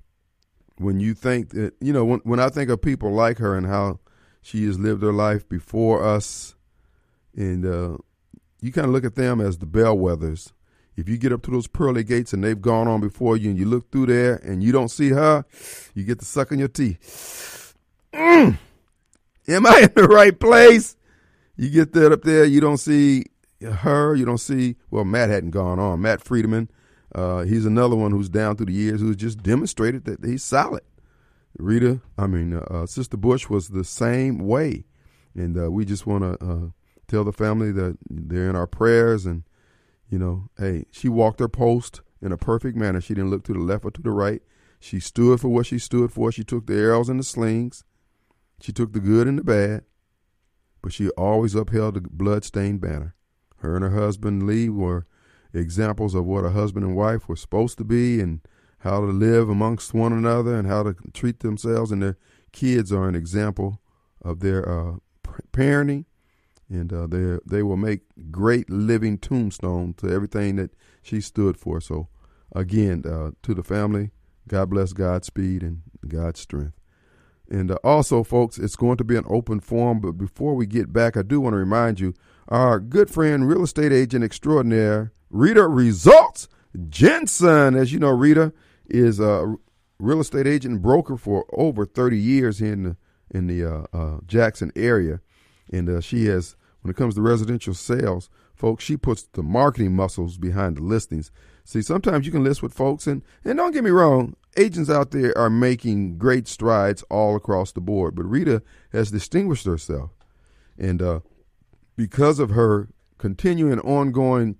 Speaker 1: when you think that, you know, when, when I think of people like her and how she has lived her life before us, and uh, you kind of look at them as the bellwethers. If you get up to those pearly gates and they've gone on before you and you look through there and you don't see her, you get to sucking your teeth. Mm. Am I in the right place? You get that up there, you don't see her, you don't see, well, Matt hadn't gone on. Matt Friedman, uh, he's another one who's down through the years who's just demonstrated that he's solid. Rita, I mean, uh, uh, Sister Bush was the same way. And uh, we just want to uh, tell the family that they're in our prayers. And, you know, hey, she walked her post in a perfect manner. She didn't look to the left or to the right. She stood for what she stood for. She took the arrows and the slings. She took the good and the bad. But she always upheld the blood-stained banner. Her and her husband, Lee, were examples of what a husband and wife were supposed to be and how to live amongst one another and how to treat themselves. And their kids are an example of their uh, parenting. And uh, they they will make great living tombstone to everything that she stood for. So, again, uh, to the family, God bless, Godspeed, and God's strength. And uh, also, folks, it's going to be an open forum. But before we get back, I do want to remind you, our good friend, real estate agent extraordinaire, Rita Results Jensen. As you know, Rita is a real estate agent and broker for over thirty years here in the, in the uh, uh, Jackson area. And uh, she has, when it comes to residential sales, folks, she puts the marketing muscles behind the listings. See, sometimes you can list with folks, and, and don't get me wrong, agents out there are making great strides all across the board. But Rita has distinguished herself. And uh, because of her continuing ongoing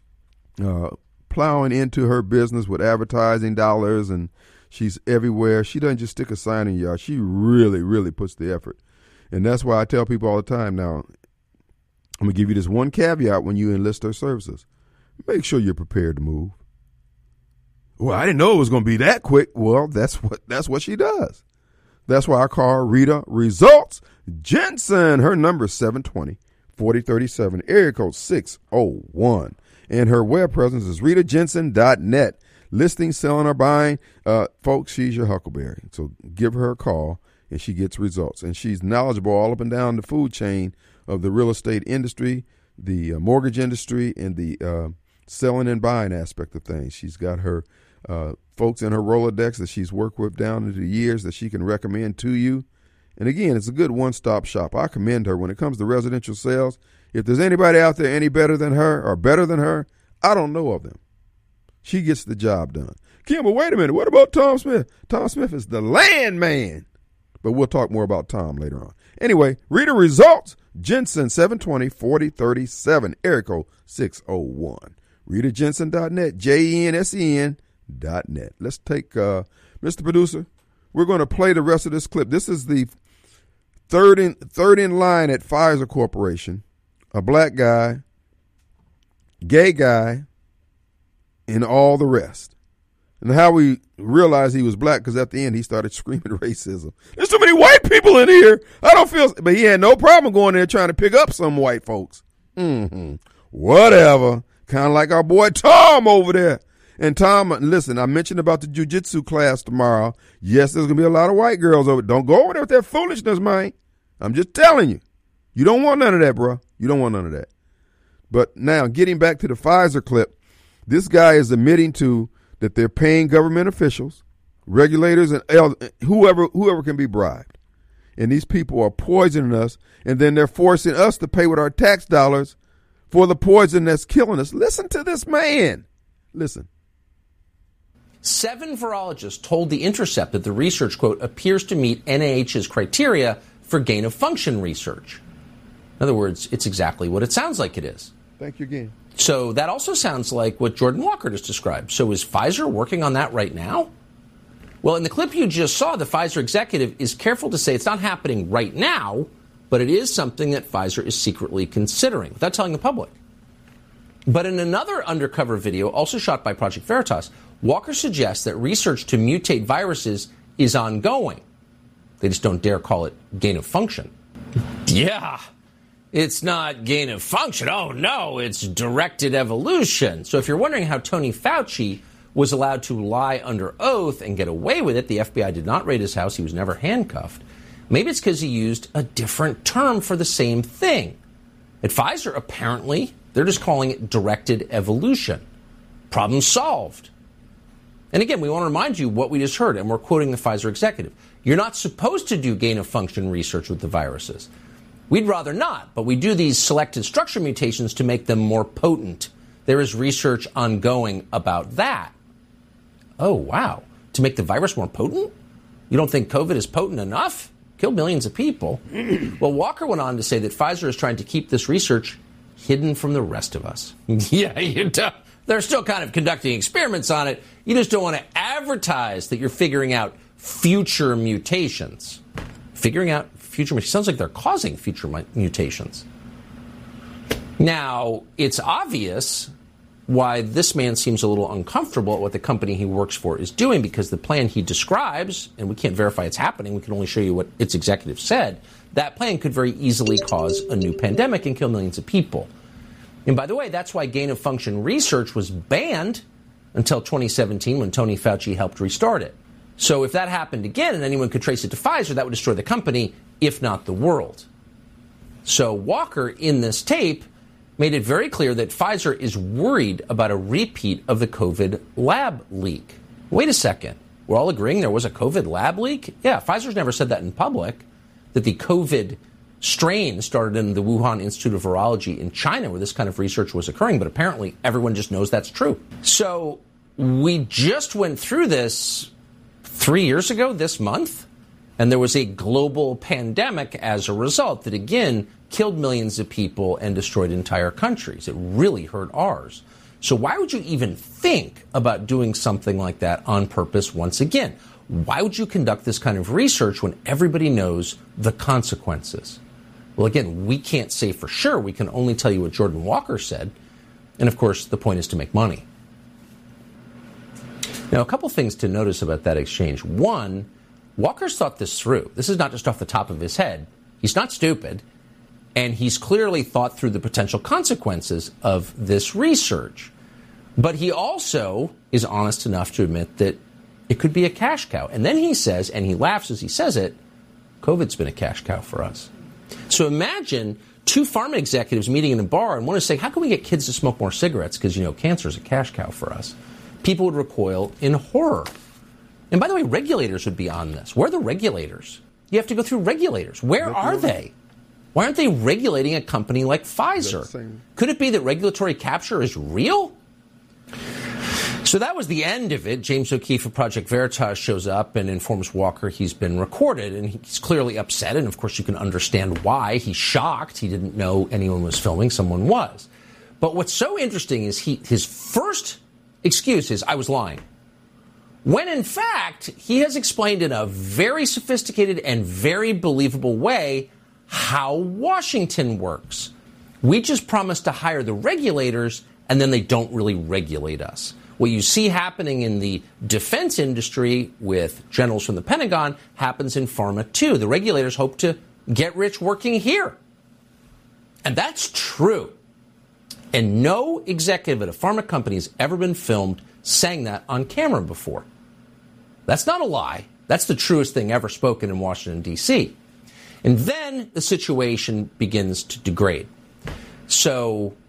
Speaker 1: uh, plowing into her business with advertising dollars, and she's everywhere, she doesn't just stick a sign in your yard. She really, really puts the effort. And that's why I tell people all the time now, I'm going to give you this one caveat when you enlist her services. Make sure you're prepared to move. Well, I didn't know it was going to be that quick. Well, that's what that's what she does. That's why I call her Rita Results Jensen. Her number is seven twenty, forty thirty-seven, area code six oh one. And her web presence is rita jensen dot net. Listing, selling, or buying, uh, folks, she's your huckleberry. So give her a call, and she gets results. And she's knowledgeable all up and down the food chain of the real estate industry, the uh, mortgage industry, and the uh, selling and buying aspect of things. She's got her uh, folks in her Rolodex that she's worked with down into the years that she can recommend to you. And again, it's a good one-stop shop. I commend her when it comes to residential sales. If there's anybody out there any better than her or better than her, I don't know of them. She gets the job done. Kim, but wait a minute. What about Tom Smith? Tom Smith is the land man. But we'll talk more about Tom later on. Anyway, Rita Results, Jensen, seven twenty, forty thirty-seven, area code six oh one. rita jensen dot net, J E N S E N dot net. Let's take, uh, Mister Producer, we're going to play the rest of this clip. This is the third in, third in line at Pfizer Corporation, a black guy, gay guy, and all the rest. And how we realized he was black, because at the end he started screaming racism. There's too many white people in here. I don't feel, but he had no problem going there trying to pick up some white folks. Mm-hmm. Whatever. Kind of like our boy Tom over there. And Tom, listen, I mentioned about the jiu-jitsu class tomorrow. Yes, there's going to be a lot of white girls over. Don't go over there with that foolishness, man. I'm just telling you. You don't want none of that, bro. You don't want none of that. But now, getting back to the Pfizer clip, this guy is admitting to that they're paying government officials, regulators, and whoever whoever can be bribed. And these people are poisoning us, and then they're forcing us to pay with our tax dollars for the poison that's killing us. Listen to this man. Listen.
Speaker 6: Seven virologists told The Intercept that the research, quote, appears to meet N I H's criteria for gain-of-function research. In other words, it's exactly what it sounds like it is.
Speaker 1: Thank you again.
Speaker 6: So that also sounds like what Jordan Walker just described. So is Pfizer working on that right now? Well, in the clip you just saw, the Pfizer executive is careful to say it's not happening right now, but it is something that Pfizer is secretly considering, without telling the public. But in another undercover video, also shot by Project Veritas, Walker suggests that research to mutate viruses is ongoing. They just don't dare call it gain of function. Yeah. It's not gain of function. Oh, no, it's directed evolution. So if you're wondering how Tony Fauci was allowed to lie under oath and get away with it, the F B I did not raid his house. He was never handcuffed. Maybe it's because he used a different term for the same thing. At Pfizer, apparently, they're just calling it directed evolution. Problem solved. And again, we want to remind you what we just heard, and we're quoting the Pfizer executive. You're not supposed to do gain of function research with the viruses. We'd rather not, but we do these selected structure mutations to make them more potent. There is research ongoing about that. Oh, wow. To make the virus more potent? You don't think COVID is potent enough? Killed millions of people. Well, Walker went on to say that Pfizer is trying to keep this research hidden from the rest of us. Yeah, you do. They're still kind of conducting experiments on it. You just don't want to advertise that you're figuring out future mutations. Figuring out future mutations. Sounds like they're causing future mutations. Now, it's obvious why this man seems a little uncomfortable at what the company he works for is doing, because the plan he describes, and we can't verify it's happening, we can only show you what its executive said, that plan could very easily cause a new pandemic and kill millions of people. And by the way, that's why gain-of-function research was banned until twenty seventeen when Tony Fauci helped restart it. So if that happened again and anyone could trace it to Pfizer, that would destroy the company, if not the world. So Walker, in this tape, made it very clear that Pfizer is worried about a repeat of the COVID lab leak. Wait a second. We're all agreeing there was a COVID lab leak? Yeah, Pfizer's never said that in public, that the COVID strain started in the Wuhan Institute of Virology in China, where this kind of research was occurring, but apparently everyone just knows that's true. So we just went through this three years ago this month, and there was a global pandemic as a result that, again, killed millions of people and destroyed entire countries. It really hurt ours. So why would you even think about doing something like that on purpose once again? Why would you conduct this kind of research when everybody knows the consequences? Well, again, we can't say for sure. We can only tell you what Jordan Walker said. And, of course, the point is to make money. Now, a couple things to notice about that exchange. One, Walker's thought this through. This is not just off the top of his head. He's not stupid. And he's clearly thought through the potential consequences of this research. But he also is honest enough to admit that it could be a cash cow. And then he says, and he laughs as he says it, COVID's been a cash cow for us. So imagine two pharma executives meeting in a bar and one is saying, how can we get kids to smoke more cigarettes? Because, you know, cancer is a cash cow for us. People would recoil in horror. And by the way, regulators would be on this. Where are the regulators? You have to go through regulators. Where are they? Why aren't they regulating a company like Pfizer? Could it be that regulatory capture is real? So that was the end of it. James O'Keefe of Project Veritas shows up and informs Walker he's been recorded, and he's clearly upset, and of course you can understand why. He's shocked. He didn't know anyone was filming. Someone was. But what's so interesting is he his first excuse is, I was lying. When in fact, he has explained in a very sophisticated and very believable way how Washington works. We just promise to hire the regulators, and then they don't really regulate us. What you see happening in the defense industry with generals from the Pentagon happens in pharma too. The regulators hope to get rich working here. And that's true. And no executive at a pharma company has ever been filmed saying that on camera before. That's not a lie. That's the truest thing ever spoken in Washington, D C. And then the situation begins to degrade. So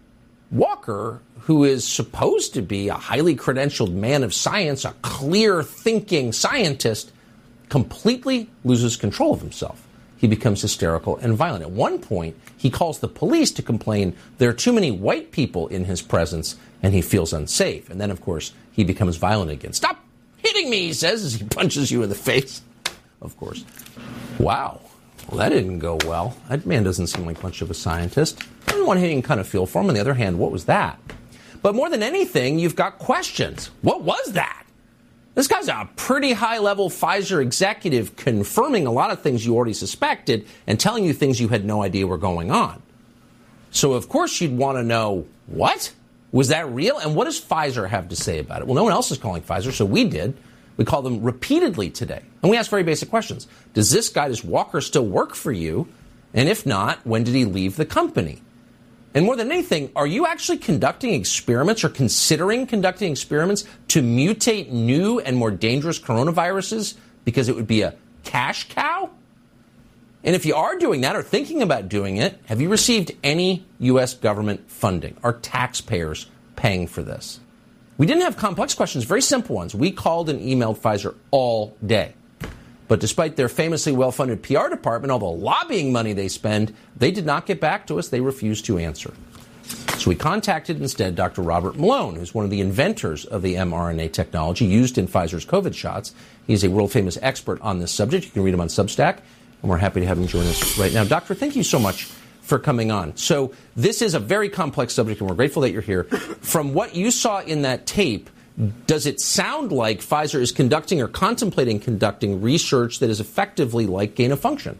Speaker 6: Walker, who is supposed to be a highly credentialed man of science, a clear-thinking scientist, completely loses control of himself. He becomes hysterical and violent. At one point, he calls the police to complain there are too many white people in his presence, and he feels unsafe. And then, of course, he becomes violent again. Stop hitting me, he says, as he punches you in the face, of course. Wow. Well, that didn't go well. That man doesn't seem like much of a scientist. On the one hand, you can kind of feel for him. On the other hand, what was that? But more than anything, you've got questions. What was that? This guy's a pretty high-level Pfizer executive confirming a lot of things you already suspected and telling you things you had no idea were going on. So, of course, you'd want to know, what? Was that real? And what does Pfizer have to say about it? Well, no one else is calling Pfizer, so we did. We called them repeatedly today. And we asked very basic questions. Does this guy, does Walker, still work for you? And if not, when did he leave the company? And more than anything, are you actually conducting experiments or considering conducting experiments to mutate new and more dangerous coronaviruses because it would be a cash cow? And if you are doing that or thinking about doing it, have you received any U S government funding? Are taxpayers paying for this? We didn't have complex questions, very simple ones. We called and emailed Pfizer all day. But despite their famously well-funded P R department, all the lobbying money they spend, they did not get back to us. They refused to answer. So we contacted instead Doctor Robert Malone, who's one of the inventors of the mRNA technology used in Pfizer's COVID shots. He's a world-famous expert on this subject. You can read him on Substack, and we're happy to have him join us right now. Doctor, thank you so much for coming on. So this is a very complex subject, and we're grateful that you're here. From what you saw in that tape, does it sound like Pfizer is conducting or contemplating conducting research that is effectively like gain of function?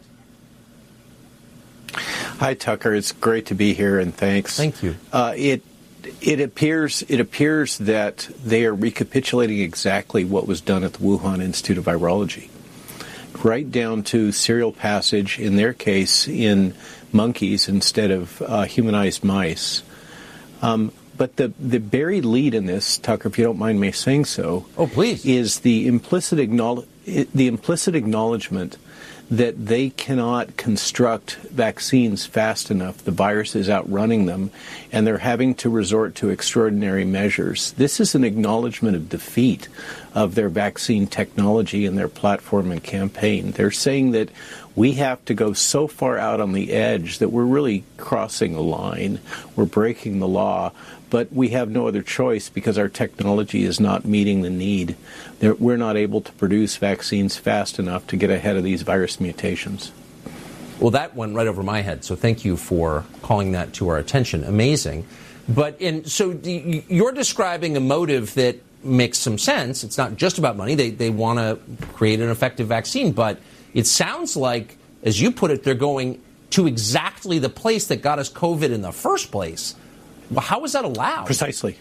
Speaker 9: Hi, Tucker. It's great to be here, and thanks.
Speaker 6: Thank you.
Speaker 9: Uh, it it appears it appears that they are recapitulating exactly what was done at the Wuhan Institute of Virology, right down to serial passage, in their case, in monkeys instead of uh, humanized mice. Um, But the, the buried lead in this, Tucker, if you don't mind me saying so,
Speaker 6: oh, please,
Speaker 9: is the implicit acknowledge, the implicit acknowledgement that they cannot construct vaccines fast enough. The virus is outrunning them, and they're having to resort to extraordinary measures. This is an acknowledgement of defeat of their vaccine technology and their platform and campaign. They're saying that we have to go so far out on the edge that we're really crossing a line. We're breaking the law, but we have no other choice because our technology is not meeting the need. We're not able to produce vaccines fast enough to get ahead of these virus mutations.
Speaker 6: Well, that went right over my head, so thank you for calling that to our attention. Amazing. But in, so you're describing a motive that makes some sense. It's not just about money. They, they want to create an effective vaccine, but it sounds like, as you put it, they're going to exactly the place that got us COVID in the first place. Well, how is that allowed?
Speaker 9: Precisely.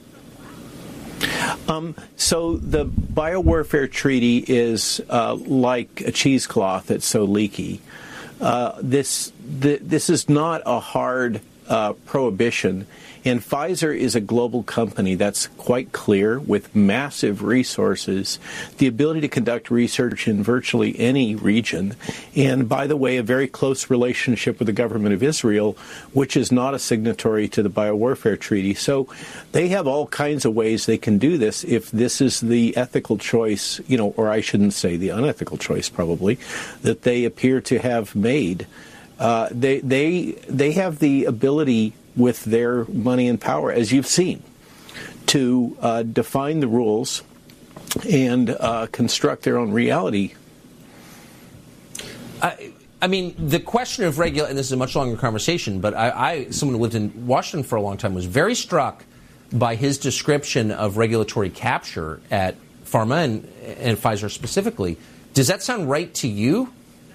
Speaker 9: Um, so the biowarfare treaty is uh, like a cheesecloth that's so leaky. Uh, this the, this is not a hard uh, prohibition. And Pfizer is a global company that's quite clear, with massive resources, the ability to conduct research in virtually any region, and, by the way, a very close relationship with the government of Israel, which is not a signatory to the Biowarfare Treaty. So they have all kinds of ways they can do this if this is the ethical choice, you know, or I shouldn't say the unethical choice, probably, that they appear to have made. Uh, they they they have the ability, with their money and power, as you've seen, to uh, define the rules and uh, construct their own reality.
Speaker 6: I, I mean, the question of regulation, and this is a much longer conversation, but I, I, someone who lived in Washington for a long time, was very struck by his description of regulatory capture at Pharma and, and Pfizer specifically. Does that sound right to you?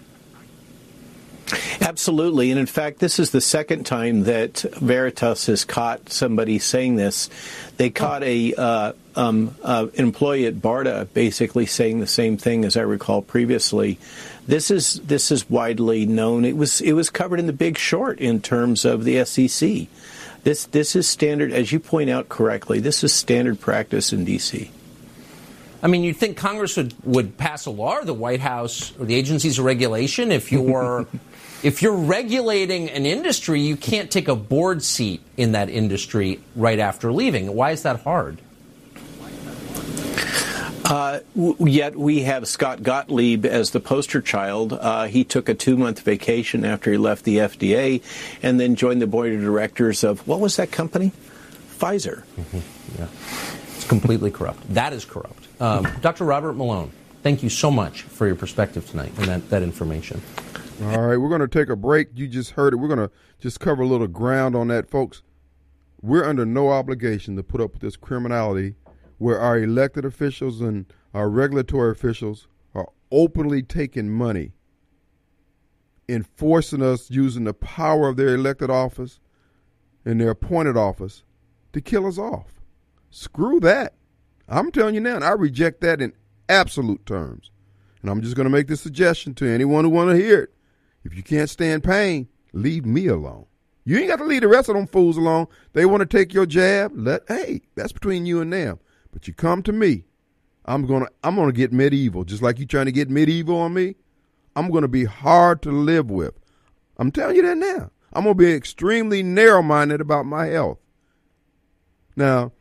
Speaker 9: Absolutely. And in fact, this is the second time that Veritas has caught somebody saying this. They caught a uh, um, uh, an employee at BARDA basically saying the same thing, as I recall previously. This is this is widely known. It was it was covered in The Big Short in terms of the S E C. This this is standard, as you point out correctly. This is standard practice in D C.
Speaker 6: I mean, you'd think Congress would, would pass a law, or the White House, or the agencies of regulation if you're If you're regulating an industry, you can't take a board seat in that industry right after leaving. Why is that hard?
Speaker 9: Uh, w- yet we have Scott Gottlieb as the poster child. Uh, he took a two-month vacation after he left the F D A and then joined the board of directors of, what was that company? Pfizer.
Speaker 6: Mm-hmm. Yeah. It's completely corrupt. That is corrupt. Um, Doctor Robert Malone, thank you so much for your perspective tonight and that, that information.
Speaker 1: All right, we're going to take a break. You just heard it. We're going to just cover a little ground on that, folks. We're under no obligation to put up with this criminality where our elected officials and our regulatory officials are openly taking money, enforcing us using the power of their elected office and their appointed office to kill us off. Screw that. I'm telling you now, and I reject that in absolute terms. And I'm just going to make this suggestion to anyone who want to hear it. If you can't stand pain, leave me alone. You ain't got to leave the rest of them fools alone. They want to take your jab. Let hey, that's between you and them. But you come to me, I'm gonna I'm gonna get medieval, just like you trying to get medieval on me. I'm gonna be hard to live with. I'm telling you that now. I'm gonna be extremely narrow-minded about my health. Now,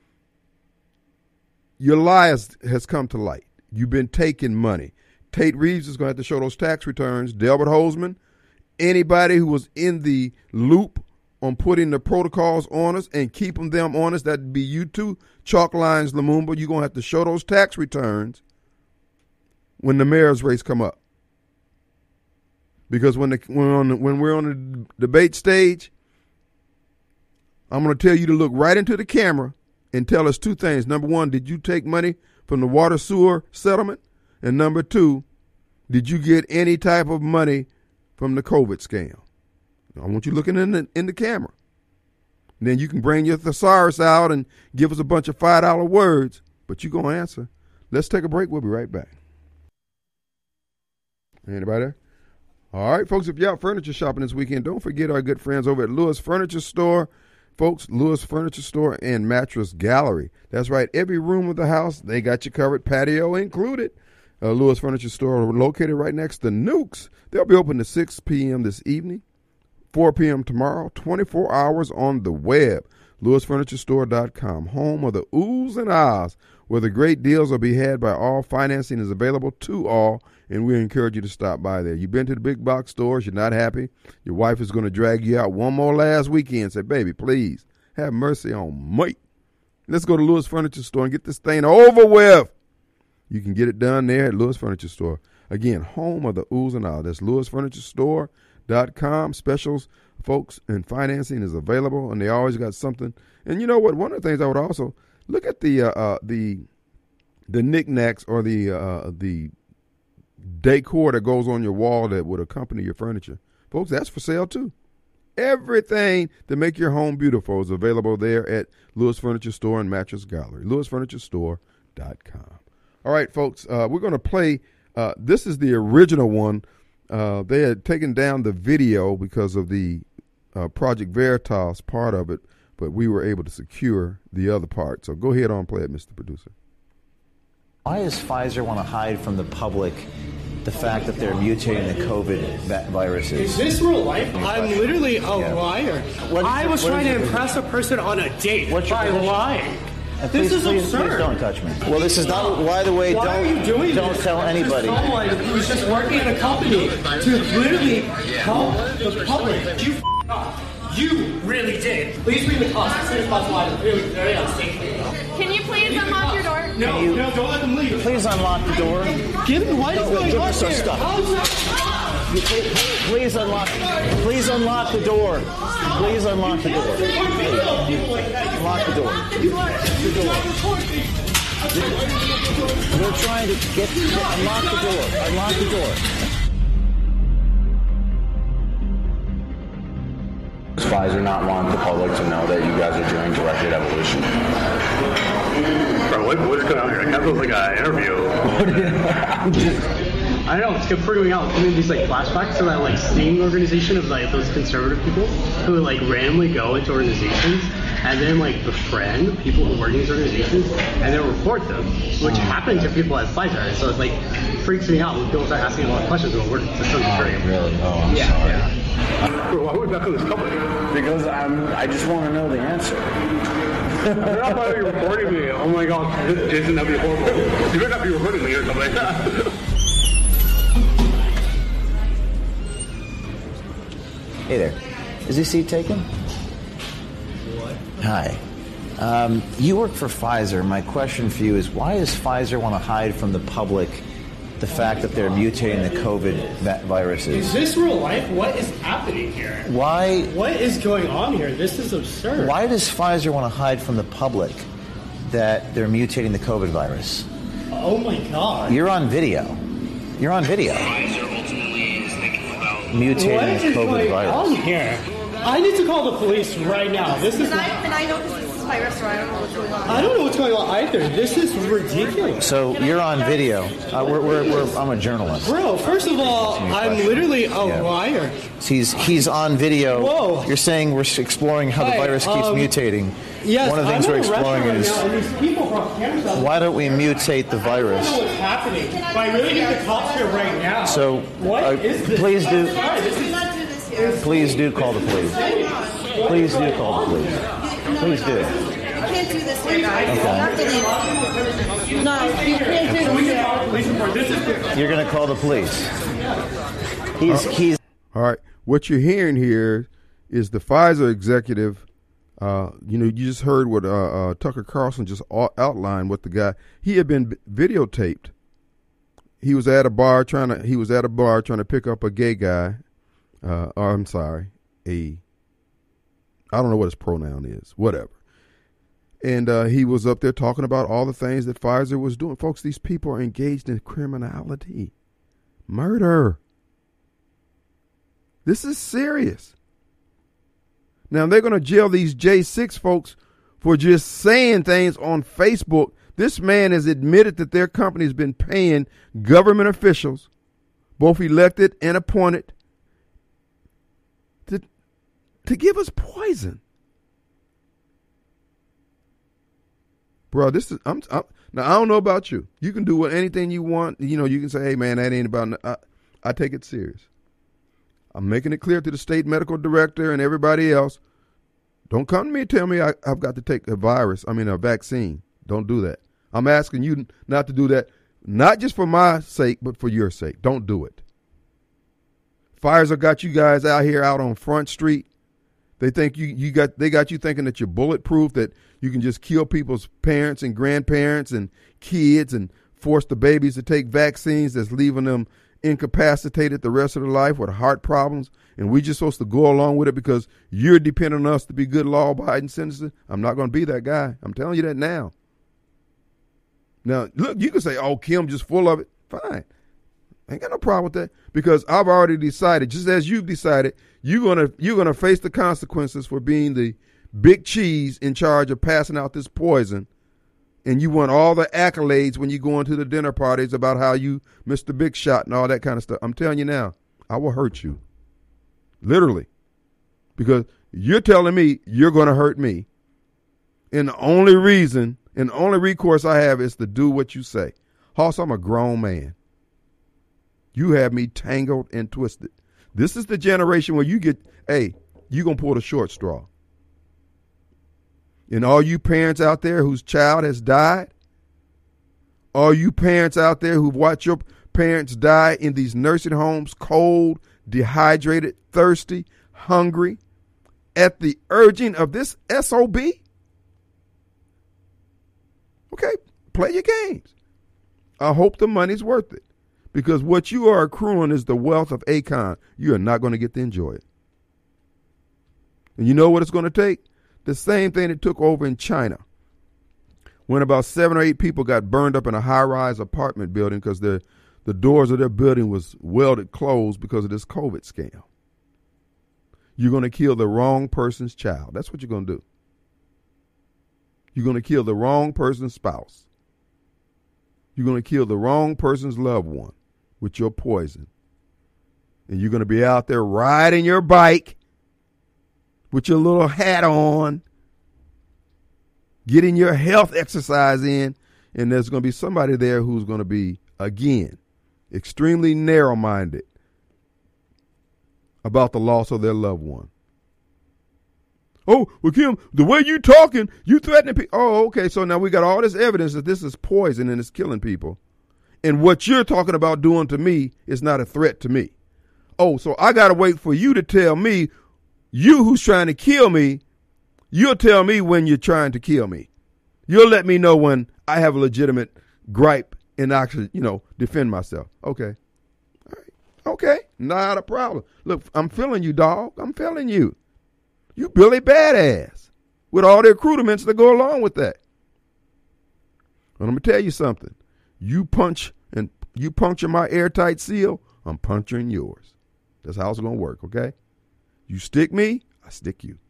Speaker 1: your lie has, has come to light. You've been taking money. Tate Reeves is gonna have to show those tax returns. Delbert Holzman, anybody who was in the loop on putting the protocols on us and keeping them on us, that'd be you too, Chalk Lines Lumumba. You're going to have to show those tax returns when the mayor's race come up. Because when the, when, on the, when we're on the debate stage, I'm going to tell you to look right into the camera and tell us two things. Number one, did you take money from the water sewer settlement? And number two, did you get any type of money from the COVID scam? I want you looking in the, in the camera. And then you can bring your thesaurus out and give us a bunch of five dollar words, but you're going to answer. Let's take a break. We'll be right back. Anybody there? All right, folks, if you're out furniture shopping this weekend, don't forget our good friends over at Lewis Furniture Store. Folks, Lewis Furniture Store and Mattress Gallery. That's right. Every room of the house, they got you covered, patio included. Uh, Lewis Furniture Store located right next to Nukes. They'll be open to six p.m. this evening. four p.m. tomorrow, twenty-four hours on the web. Lewis Furniture Store dot com, home of the oohs and ahs, where the great deals will be had by all. Financing is available to all, and we encourage you to stop by there. You've been to the big box stores, you're not happy. Your wife is going to drag you out one more last weekend and say, baby, please, have mercy on me. Let's go to Lewis Furniture Store and get this thing over with. You can get it done there at Lewis Furniture Store. Again, home of the oohs and ahs. That's Lewis Furniture Store. Dot com specials, folks, and financing is available, and they always got something. And you know what? One of the things I would also look at the uh, uh, the the knickknacks or the uh, the decor that goes on your wall that would accompany your furniture, folks. That's for sale too. Everything to make your home beautiful is available there at Lewis Furniture Store and Mattress Gallery. Lewis Furniture Store dot com. All right, folks, uh, we're going to play. Uh, this is the original one. Uh, they had taken down the video because of the uh, Project Veritas part of it, but we were able to secure the other part. So go ahead on, play it, Mister Producer.
Speaker 10: Why does Pfizer want to hide from the public the fact that they're mutating the COVID viruses?
Speaker 11: Is this real life? I'm literally a yeah. liar. What, I was trying to impress a person on a date What's by your lying.
Speaker 10: Uh, please,
Speaker 11: this is
Speaker 10: please,
Speaker 11: absurd.
Speaker 10: Please don't touch me. Well, this is not. By the way,
Speaker 11: Why
Speaker 10: don't,
Speaker 11: are you doing
Speaker 10: don't
Speaker 11: this?
Speaker 10: tell anybody.
Speaker 11: There's someone who's just working in a company to literally help the public. You f***ed up. You really did. Please read the cost as soon as possible. I'm really very unsafe.
Speaker 12: Can you please unlock your door?
Speaker 11: No,
Speaker 10: you,
Speaker 11: no, don't let them leave.
Speaker 10: Please unlock the door.
Speaker 11: Give me what is going
Speaker 10: give
Speaker 11: on
Speaker 10: us our
Speaker 11: here?
Speaker 10: stuff. You, please, please unlock. Please unlock the door. Please unlock the door. Unlock the door. The door. We're trying to get, get unlock the door. Unlock the door.
Speaker 13: Does Pfizer not want the public to know that you guys are doing directed evolution?
Speaker 14: Bro, what, what is going on here? I feel like an interview.
Speaker 11: I don't know, it's freaking out. I mean, these like flashbacks to that like sting organization of like those conservative people who like randomly go into organizations and then like befriend people who work in these organizations and then report them, which happened to people at Pfizer. So it like freaks me out when people start asking a lot of questions about where the system's
Speaker 13: oh,
Speaker 11: very
Speaker 13: really? Oh, I'm
Speaker 11: yeah,
Speaker 13: sorry.
Speaker 11: Yeah.
Speaker 14: Why would that come this company?
Speaker 10: Because I'm. I just want to know the answer.
Speaker 14: They're not probably recording me. Oh my god, Jason, that'd be horrible. You better not be recording me or something like that.
Speaker 10: Hey there. Is this seat taken?
Speaker 15: What?
Speaker 10: Hi. Um, you work for Pfizer. My question for you is, why does Pfizer want to hide from the public the fact that they're mutating the COVID va- viruses?
Speaker 11: Is this real life? What is happening here?
Speaker 10: Why?
Speaker 11: What is going on here? This is absurd.
Speaker 10: Why does Pfizer want to hide from the public that they're mutating the COVID virus?
Speaker 11: Oh my god.
Speaker 10: You're on video. You're on video.
Speaker 11: Pfizer ultimately is thinking about
Speaker 10: mutating
Speaker 11: what is
Speaker 10: the COVID
Speaker 11: going
Speaker 10: virus.
Speaker 11: on here? I need to call the police right now. This is.
Speaker 16: And I, and I know this is my restaurant. I don't know what's going on.
Speaker 11: I don't know what's going on either. This is ridiculous.
Speaker 10: So you're on video. Uh, we're, we're, we're, I'm a journalist.
Speaker 11: Bro, first of all, I'm literally a
Speaker 10: Yeah.
Speaker 11: liar.
Speaker 10: He's he's on video.
Speaker 11: Whoa.
Speaker 10: You're saying we're exploring how the
Speaker 11: Hi,
Speaker 10: virus keeps
Speaker 11: um,
Speaker 10: mutating.
Speaker 11: Yes,
Speaker 10: One of the things
Speaker 11: I'm
Speaker 10: we're
Speaker 11: in a
Speaker 10: exploring
Speaker 11: restaurant
Speaker 10: is
Speaker 11: right now, and these people brought cameras out.
Speaker 10: why don't we mutate the
Speaker 11: I
Speaker 10: virus?
Speaker 11: don't know what's happening, but I really need the cops here right now.
Speaker 10: So
Speaker 11: what
Speaker 10: uh,
Speaker 11: is this?
Speaker 10: please do
Speaker 11: I'm sorry, this is
Speaker 10: please do call the police. Please do call the police. Please do.
Speaker 16: You can't do this here, guys.
Speaker 10: Okay.
Speaker 16: Not today. No, you can't do this here.
Speaker 10: You're going to call the police. He's he's
Speaker 1: All right. What you're hearing here is the Pfizer executive. Uh, you know, you just heard what uh, uh, Tucker Carlson just au- outlined. What the guy he had been videotaped. He was at a bar trying to. He was at a bar trying to pick up a gay guy. Uh, or I'm sorry, a. I don't know what his pronoun is. Whatever. And uh, he was up there talking about all the things that Pfizer was doing. Folks, these people are engaged in criminality, murder. This is serious. Now, they're going to jail these J six folks for just saying things on Facebook. This man has admitted that their company has been paying government officials, both elected and appointed, to, to give us poison. Bro, this is, I'm, I'm, now I don't know about you. You can do what, anything you want. You know, you can say, hey, man, that ain't about, I, I take it serious. I'm making it clear to the state medical director and everybody else. Don't come to me and tell me I, I've got to take a virus, I mean a vaccine. Don't do that. I'm asking you not to do that, not just for my sake, but for your sake. Don't do it. Pfizer got you guys out here out on Front Street. They think you, you got they got you thinking that you're bulletproof, that you can just kill people's parents and grandparents and kids and force the babies to take vaccines that's leaving them incapacitated the rest of their life with heart problems, and we just supposed to go along with it because you're depending on us to be good law-abiding citizens. I'm not going to be that guy. I'm telling you that now. Now, look, you can say, oh, Kim just full of it. Fine. I ain't got no problem with that because I've already decided, just as you've decided, you're gonna you're gonna face the consequences for being the big cheese in charge of passing out this poison. And you want all the accolades when you go into the dinner parties about how you Mister Big Shot and all that kind of stuff. I'm telling you now, I will hurt you. Literally. Because you're telling me you're going to hurt me. And the only reason and the only recourse I have is to do what you say. Hoss, I'm a grown man. You have me tangled and twisted. This is the generation where you get, hey, you're going to pull the short straw. And all you parents out there whose child has died, all you parents out there who've watched your parents die in these nursing homes, cold, dehydrated, thirsty, hungry, at the urging of this S O B, okay, play your games. I hope the money's worth it. Because what you are accruing is the wealth of Akon. You are not going to get to enjoy it. And you know what it's going to take? The same thing it took over in China when about seven or eight people got burned up in a high-rise apartment building because the, the doors of their building was welded closed because of this COVID scam. You're going to kill the wrong person's child. That's what you're going to do. You're going to kill the wrong person's spouse. You're going to kill the wrong person's loved one with your poison. And you're going to be out there riding your bike with your little hat on, getting your health exercise in, and there's going to be somebody there who's going to be, again, extremely narrow-minded about the loss of their loved one. Oh, well, Kim, the way you talking, you threatening people. Oh, okay, so now we got all this evidence that this is poison and it's killing people. And what you're talking about doing to me is not a threat to me. Oh, so I got to wait for you to tell me, you who's trying to kill me, you'll tell me when you're trying to kill me. You'll let me know when I have a legitimate gripe and actually, you know, defend myself. Okay. All right. Okay. Not a problem. Look, I'm feeling you, dog. I'm feeling you. You Billy Badass with all the accoutrements that go along with that. And I'm going to tell you something. You punch and you puncture my airtight seal, I'm puncturing yours. That's how it's going to work, okay? You stick me, I stick you.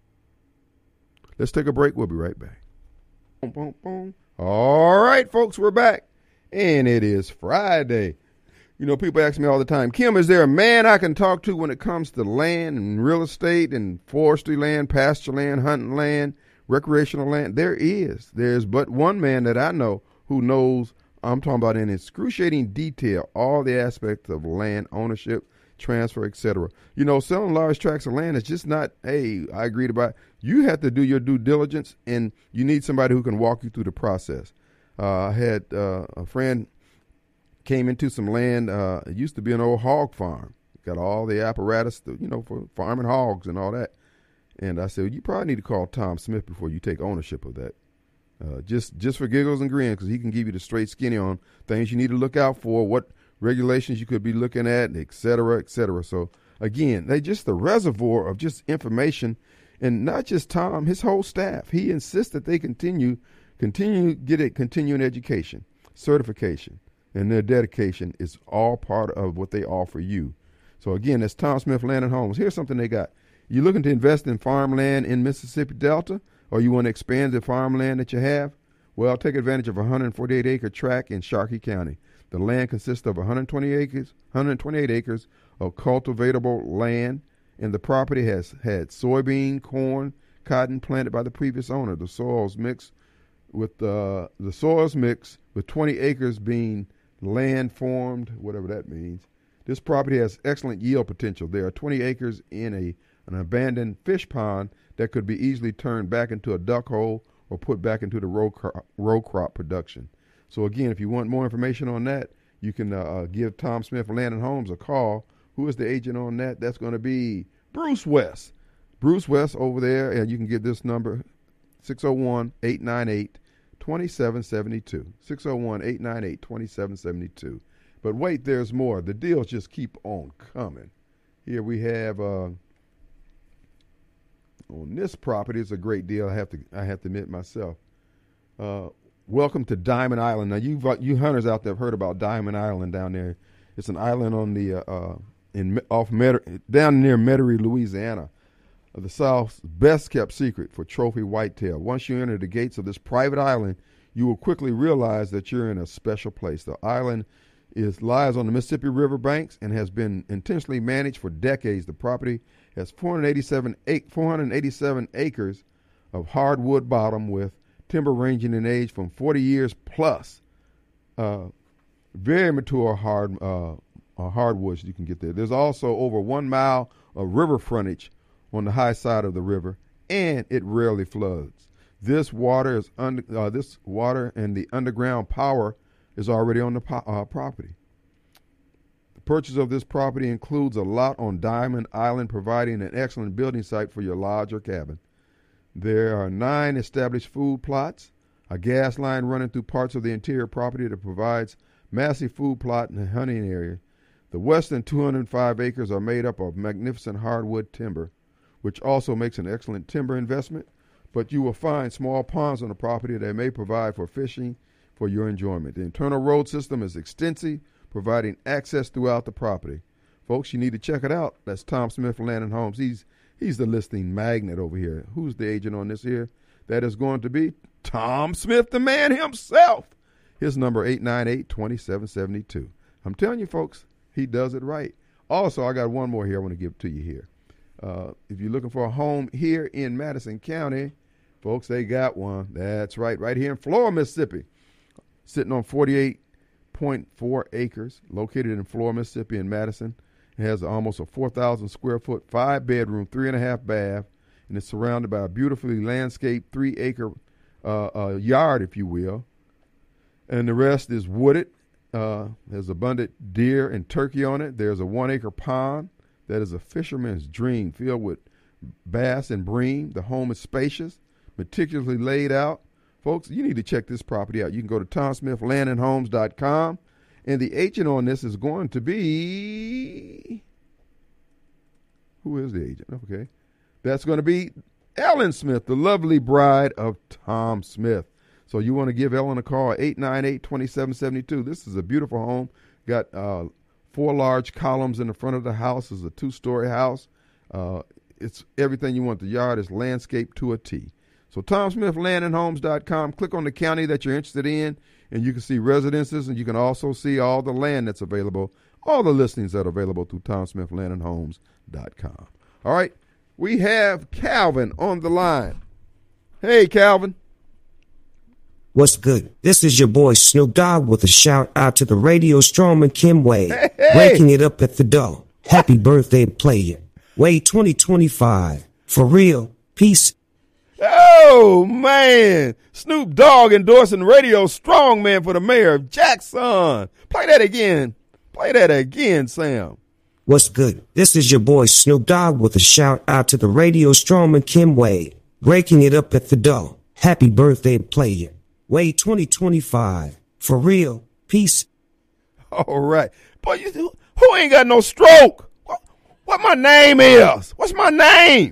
Speaker 1: Let's take a break. We'll be right back. Boom, boom, boom. All right, folks, we're back. And it is Friday. You know, people ask me all the time, Kim, is there a man I can talk to when it comes to land and real estate and forestry land, pasture land, hunting land, recreational land? There is. There's but one man that I know who knows, I'm talking about in excruciating detail, all the aspects of land ownership, transfer, et cetera. You know, selling large tracts of land is just not, hey, I agreed about it. You have to do your due diligence, and you need somebody who can walk you through the process. Uh, I had uh, a friend came into some land. Uh, it used to be an old hog farm. Got all the apparatus, to, you know, for farming hogs and all that. And I said, well, you probably need to call Tom Smith before you take ownership of that. Uh, just just for giggles and grins, because he can give you the straight skinny on things you need to look out for, what regulations you could be looking at, et cetera, et cetera. So, again, they just the reservoir of just information, and not just Tom, his whole staff. He insists that they continue, continue get a continuing education, certification, and their dedication is all part of what they offer you. So, again, that's Tom Smith Land and Homes. Here's something they got. You looking to invest in farmland in Mississippi Delta, or you want to expand the farmland that you have? Well, take advantage of a one hundred forty-eight acre tract in Sharkey County. The land consists of one hundred twenty acres, one hundred twenty-eight acres of cultivatable land, and the property has had soybean, corn, cotton planted by the previous owner. The soils mixed with uh, the soils mixed with twenty acres being land formed, whatever that means. This property has excellent yield potential. There are twenty acres in a an abandoned fish pond that could be easily turned back into a duck hole or put back into the row crop, row crop production. So again, if you want more information on that, you can uh, give Tom Smith Land and Homes a call. Who is the agent on that? That's going to be Bruce West. Bruce West over there, and you can get this number, six oh one, eight nine eight, two seven seven two, six oh one, eight nine eight, two seven seven two. But wait, there's more. The deals just keep on coming. Here we have... Uh, On this property, it's a great deal. I have to, I have to admit myself. Uh, welcome to Diamond Island. Now, you, you hunters out there have heard about Diamond Island down there. It's an island on the uh, uh, in off Met- down near Metairie, Louisiana, uh, the South's best kept secret for trophy whitetail. Once you enter the gates of this private island, you will quickly realize that you're in a special place. The island is lies on the Mississippi River banks and has been intentionally managed for decades. The property has four hundred eighty-seven, four hundred eighty-seven acres of hardwood bottom with timber ranging in age from forty years plus. Uh, very mature hard uh, uh, hardwoods you can get there. There's also over one mile of river frontage on the high side of the river, and it rarely floods. This water is under, uh, this water and the underground power is already on the po- uh, property. The purchase of this property includes a lot on Diamond Island, providing an excellent building site for your lodge or cabin. There are nine established food plots, a gas line running through parts of the interior property that provides massive food plot and hunting area. The western two hundred five acres are made up of magnificent hardwood timber, which also makes an excellent timber investment, but you will find small ponds on the property that may provide for fishing for your enjoyment. The internal road system is extensive, providing access throughout the property. Folks, you need to check it out. That's Tom Smith Land and Homes. He's he's the listing magnet over here. Who's the agent on this here? That is going to be Tom Smith, the man himself. His number, eight nine eight, two seven seven two. I'm telling you, folks, he does it right. Also, I got one more here I want to give to you here. Uh, if you're looking for a home here in Madison County, folks, they got one. That's right, right here in Flora, Mississippi. Sitting on forty-eight point four acres, located in Flora, Mississippi, in Madison. It has almost a four thousand square foot, five bedroom, three and a half bath, and it's surrounded by a beautifully landscaped three acre uh, uh, yard, if you will. And the rest is wooded. Uh, there's abundant deer and turkey on it. There's a one acre pond that is a fisherman's dream, filled with bass and bream. The home is spacious, meticulously laid out. Folks, you need to check this property out. You can go to tom smith land and homes dot com, and the agent on this is going to be, who is the agent? Okay. That's going to be Ellen Smith, the lovely bride of Tom Smith. So you want to give Ellen a call, eight nine eight, two seven seven two. This is a beautiful home. Got uh, four large columns in the front of the house. It's a two-story house. Uh, it's everything you want. The yard is landscaped to a T. So tom smith land and homes dot com. Click on the county that you're interested in, and you can see residences, and you can also see all the land that's available, all the listings that are available through tom smith land and homes dot com. All right, we have Calvin on the line. Hey, Calvin.
Speaker 17: What's good? This is your boy Snoop Dogg with a shout out to the radio strongman Kim Wade. Hey, hey. Breaking it up at the door. Happy birthday, player. Wade twenty twenty-five. For real. Peace.
Speaker 1: Oh, man. Snoop Dogg endorsing radio strongman for the mayor of Jackson. Play that again. Play that again, Sam.
Speaker 17: What's good? This is your boy Snoop Dogg with a shout out to the radio strongman Kim Wade. Breaking it up at the door. Happy birthday, player. Wade twenty twenty-five. For real. Peace.
Speaker 1: All right. Boy, you, who ain't got no stroke? What, what my name is? What's my name?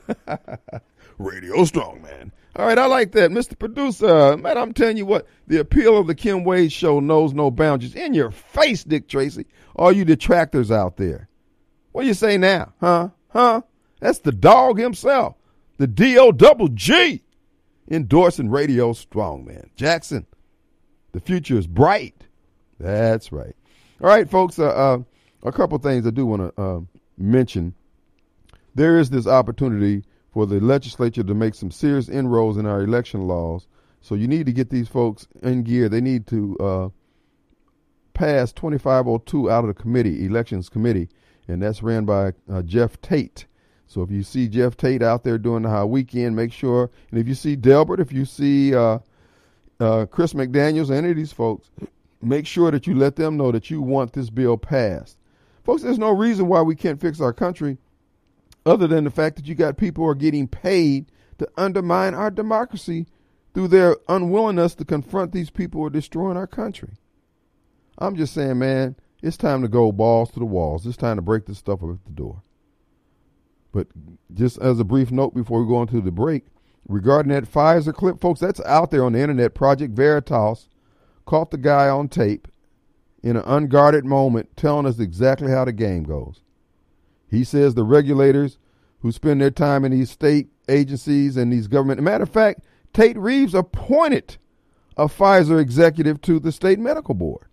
Speaker 1: Radio Strongman. All right, I like that. Mister Producer, man, I'm telling you what, the appeal of the Kim Wade Show knows no boundaries. In your face, Dick Tracy, all you detractors out there. What do you say now? Huh? Huh? That's the dog himself, the D O double G. Endorsing Radio Strongman. Jackson, the future is bright. That's right. All right, folks, uh, uh, a couple things I do want to uh, mention. There is this opportunity for the legislature to make some serious inroads in our election laws. So you need to get these folks in gear. They need to uh, pass twenty-five oh two out of the committee, elections committee, and that's ran by uh, Jeff Tate. So if you see Jeff Tate out there doing the high weekend, make sure, and if you see Delbert, if you see uh, uh, Chris McDaniels, any of these folks, make sure that you let them know that you want this bill passed. Folks, there's no reason why we can't fix our country other than the fact that you got people who are getting paid to undermine our democracy through their unwillingness to confront these people who are destroying our country. I'm just saying, man, it's time to go balls to the walls. It's time to break this stuff up at the door. But just as a brief note before we go into the break, regarding that Pfizer clip, folks, that's out there on the internet. Project Veritas caught the guy on tape in an unguarded moment telling us exactly how the game goes. He says the regulators who spend their time in these state agencies and these government, matter of fact, Tate Reeves appointed a Pfizer executive to the state medical board.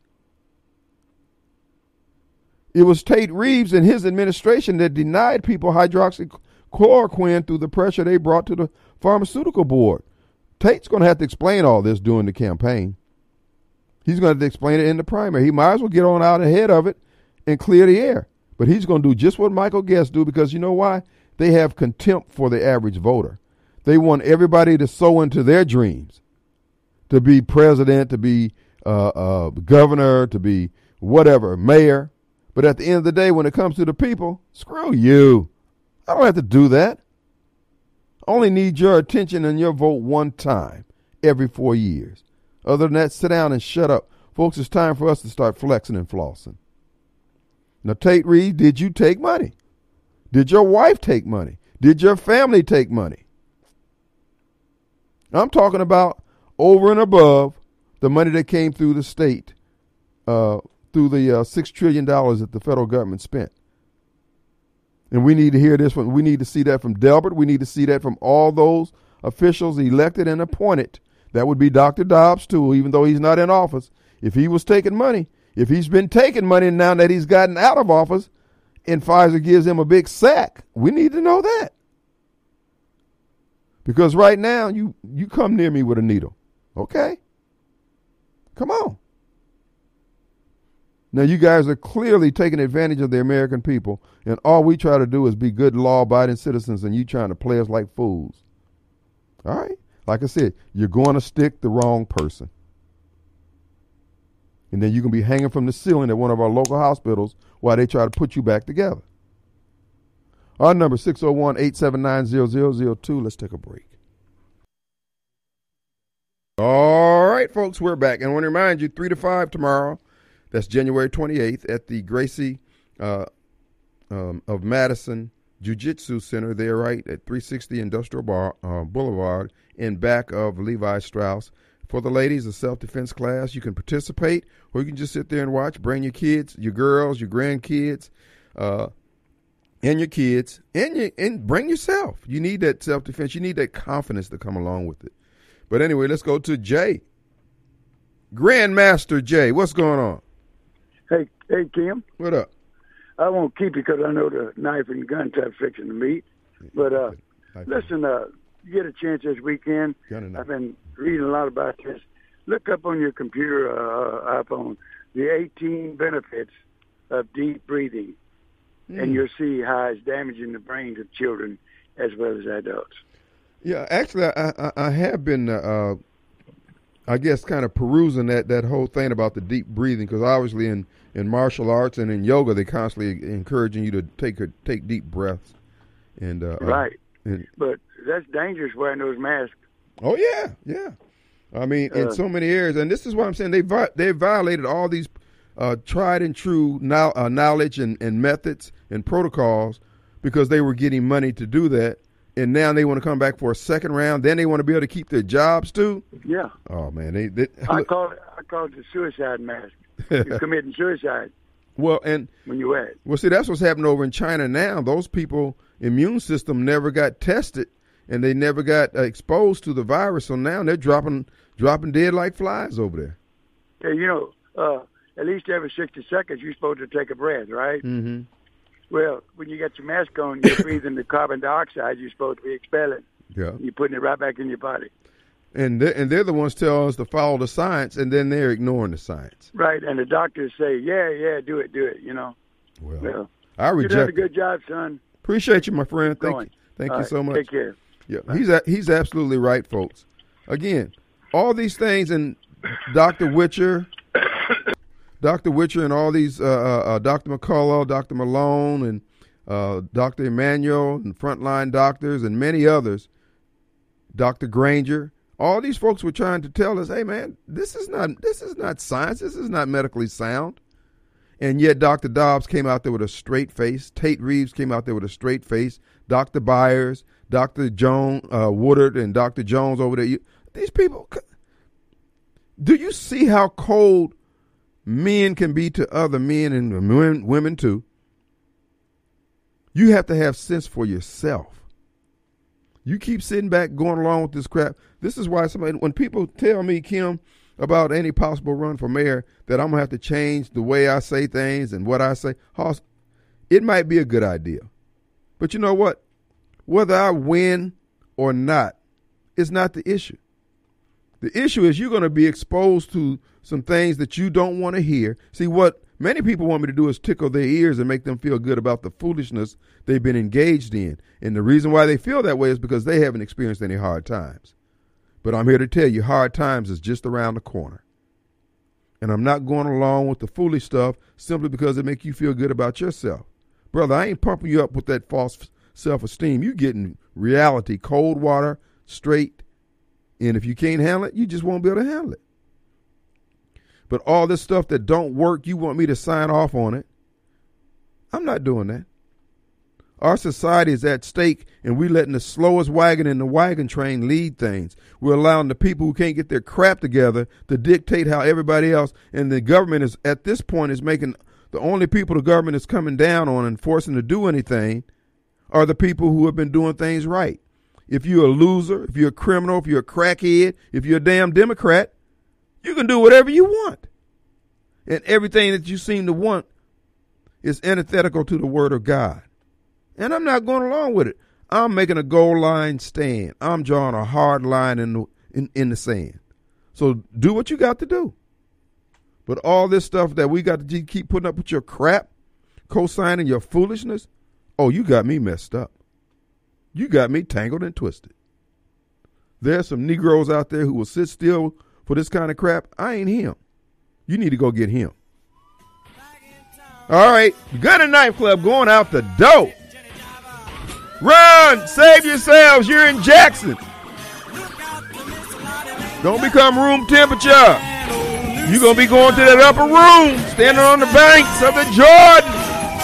Speaker 1: It was Tate Reeves and his administration that denied people hydroxychloroquine through the pressure they brought to the pharmaceutical board. Tate's going to have to explain all this during the campaign. He's going to have to explain it in the primary. He might as well get on out ahead of it and clear the air. But he's going to do just what Michael Guest do, because you know why? They have contempt for the average voter. They want everybody to sow into their dreams, to be president, to be uh, uh, governor, to be whatever, mayor. But at the end of the day, when it comes to the people, screw you. I don't have to do that. I only need your attention and your vote one time every four years. Other than that, sit down and shut up. Folks, it's time for us to start flexing and flossing. Now, Tate Reeves, did you take money? Did your wife take money? Did your family take money? I'm talking about over and above the money that came through the state, uh, through the uh, six trillion dollars that the federal government spent. And we need to hear this one. We need to see that from Delbert. We need to see that from all those officials elected and appointed. That would be Doctor Dobbs, too, even though he's not in office. If he was taking money, if he's been taking money now that he's gotten out of office and Pfizer gives him a big sack, we need to know that. Because right now, you, you come near me with a needle. Okay? Come on. Now, you guys are clearly taking advantage of the American people, and all we try to do is be good, law-abiding citizens, and you trying to play us like fools. All right? Like I said, you're going to stick the wrong person. And then you can be hanging from the ceiling at one of our local hospitals while they try to put you back together. Our number is six oh one, eight seven nine, zero zero zero two. Let's take a break. All right, folks, we're back. And I want to remind you, three to five tomorrow. That's January twenty-eighth at the Gracie uh, um, of Madison Jiu-Jitsu Center. There, right at three sixty Industrial Bar, uh, Boulevard in back of Levi Strauss. For the ladies, a self-defense class. You can participate, or you can just sit there and watch. Bring your kids, your girls, your grandkids, uh, and your kids, and, you, and bring yourself. You need that self-defense. You need that confidence to come along with it. But anyway, let's go to Jay. Grandmaster Jay, what's going on?
Speaker 18: Hey, hey, Kim.
Speaker 1: What up?
Speaker 18: I won't keep you because I know the knife and gun type fixing to meet. But uh, listen, uh, you get a chance this weekend. I've been reading a lot about this. Look up on your computer, uh, iPhone, the eighteen benefits of deep breathing, mm. and you'll see how it's damaging the brains of children as well as adults.
Speaker 1: Yeah, actually, I, I, I have been, uh, I guess, kind of perusing that, that whole thing about the deep breathing, because obviously in, in martial arts and in yoga, they're constantly encouraging you to take a, take deep breaths. And uh,
Speaker 18: right.
Speaker 1: Uh, and,
Speaker 18: but that's dangerous wearing those masks.
Speaker 1: Oh, yeah, yeah. I mean, in uh, so many areas. And this is what I'm saying. They vi- they violated all these uh, tried and true no- uh, knowledge and, and methods and protocols because they were getting money to do that. And now they want to come back for a second round. Then they want to be able to keep their jobs too.
Speaker 18: Yeah.
Speaker 1: Oh man, they. they
Speaker 18: I call it. I call it the suicide mask. You're committing suicide.
Speaker 1: Well, and
Speaker 18: when you wear it.
Speaker 1: Well, see, that's what's happening over in China now. Those people immune system never got tested, and they never got uh, exposed to the virus. So now they're dropping dropping dead like flies over there.
Speaker 18: Yeah, you know, uh, at least every sixty seconds you're supposed to take a breath, right?
Speaker 1: Mm-hmm.
Speaker 18: Well, when you got your mask on, you're breathing the carbon dioxide you're supposed to be expelling.
Speaker 1: Yeah.
Speaker 18: You're putting it right back in your body.
Speaker 1: And they're, and they're the ones tell us to follow the science, and then they're ignoring the science.
Speaker 18: Right, and the doctors say, yeah, yeah, do it, do it, you know.
Speaker 1: Well,
Speaker 18: well
Speaker 1: I reject
Speaker 18: You're doing a good job, son.
Speaker 1: Appreciate you, my friend.
Speaker 18: Keep
Speaker 1: Thank
Speaker 18: going.
Speaker 1: you. Thank
Speaker 18: All
Speaker 1: you
Speaker 18: right,
Speaker 1: so much.
Speaker 18: Take care.
Speaker 1: Yeah, he's a, he's absolutely right, folks. Again, all these things, and Doctor Witcher, Doctor Witcher, and all these, uh, uh, Doctor McCullough, Doctor Malone, and uh, Doctor Emmanuel, and frontline doctors, and many others, Doctor Granger, all these folks were trying to tell us, hey, man, this is not this is not science. This is not medically sound. And yet Doctor Dobbs came out there with a straight face. Tate Reeves came out there with a straight face. Doctor Byers, Doctor Jones, uh, Woodard, and Doctor Jones over there. You, these people, do you see how cold men can be to other men and women, women too? You have to have sense for yourself. You keep sitting back going along with this crap. This is why somebody, when people tell me, Kim, about any possible run for mayor, that I'm going to have to change the way I say things and what I say, Hoss, it might be a good idea. But you know what? Whether I win or not is not the issue. The issue is you're going to be exposed to some things that you don't want to hear. See, what many people want me to do is tickle their ears and make them feel good about the foolishness they've been engaged in. And the reason why they feel that way is because they haven't experienced any hard times. But I'm here to tell you, hard times is just around the corner. And I'm not going along with the foolish stuff simply because it makes you feel good about yourself. Brother, I ain't pumping you up with that false self-esteem. You're getting reality, cold water, straight. And if you can't handle it, you just won't be able to handle it. But all this stuff that don't work, you want me to sign off on it. I'm not doing that. Our society is at stake, and we're letting the slowest wagon in the wagon train lead things. We're allowing the people who can't get their crap together to dictate how everybody else, and the government is, at this point, is making the only people the government is coming down on and forcing to do anything are the people who have been doing things right. If you're a loser, if you're a criminal, if you're a crackhead, if you're a damn Democrat, you can do whatever you want. And everything that you seem to want is antithetical to the word of God. And I'm not going along with it. I'm making a goal line stand. I'm drawing a hard line in the, in, in the sand. So do what you got to do. But all this stuff that we got to keep putting up with your crap, co-signing your foolishness, oh, you got me messed up. You got me tangled and twisted. There's some Negroes out there who will sit still for this kind of crap. I ain't him. You need to go get him. All right, Gun and Knife Club going out the door. Run, save yourselves. You're in Jackson. Don't become room temperature. You're going to be going to that upper room, standing on the banks of the Jordan.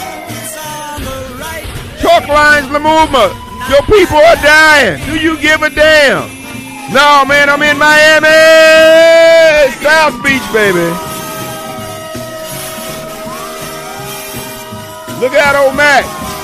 Speaker 1: Chalk lines the movement. Your people are dying. Do you give a damn? No, man, I'm in Miami. South Beach, baby. Look out, old Mac.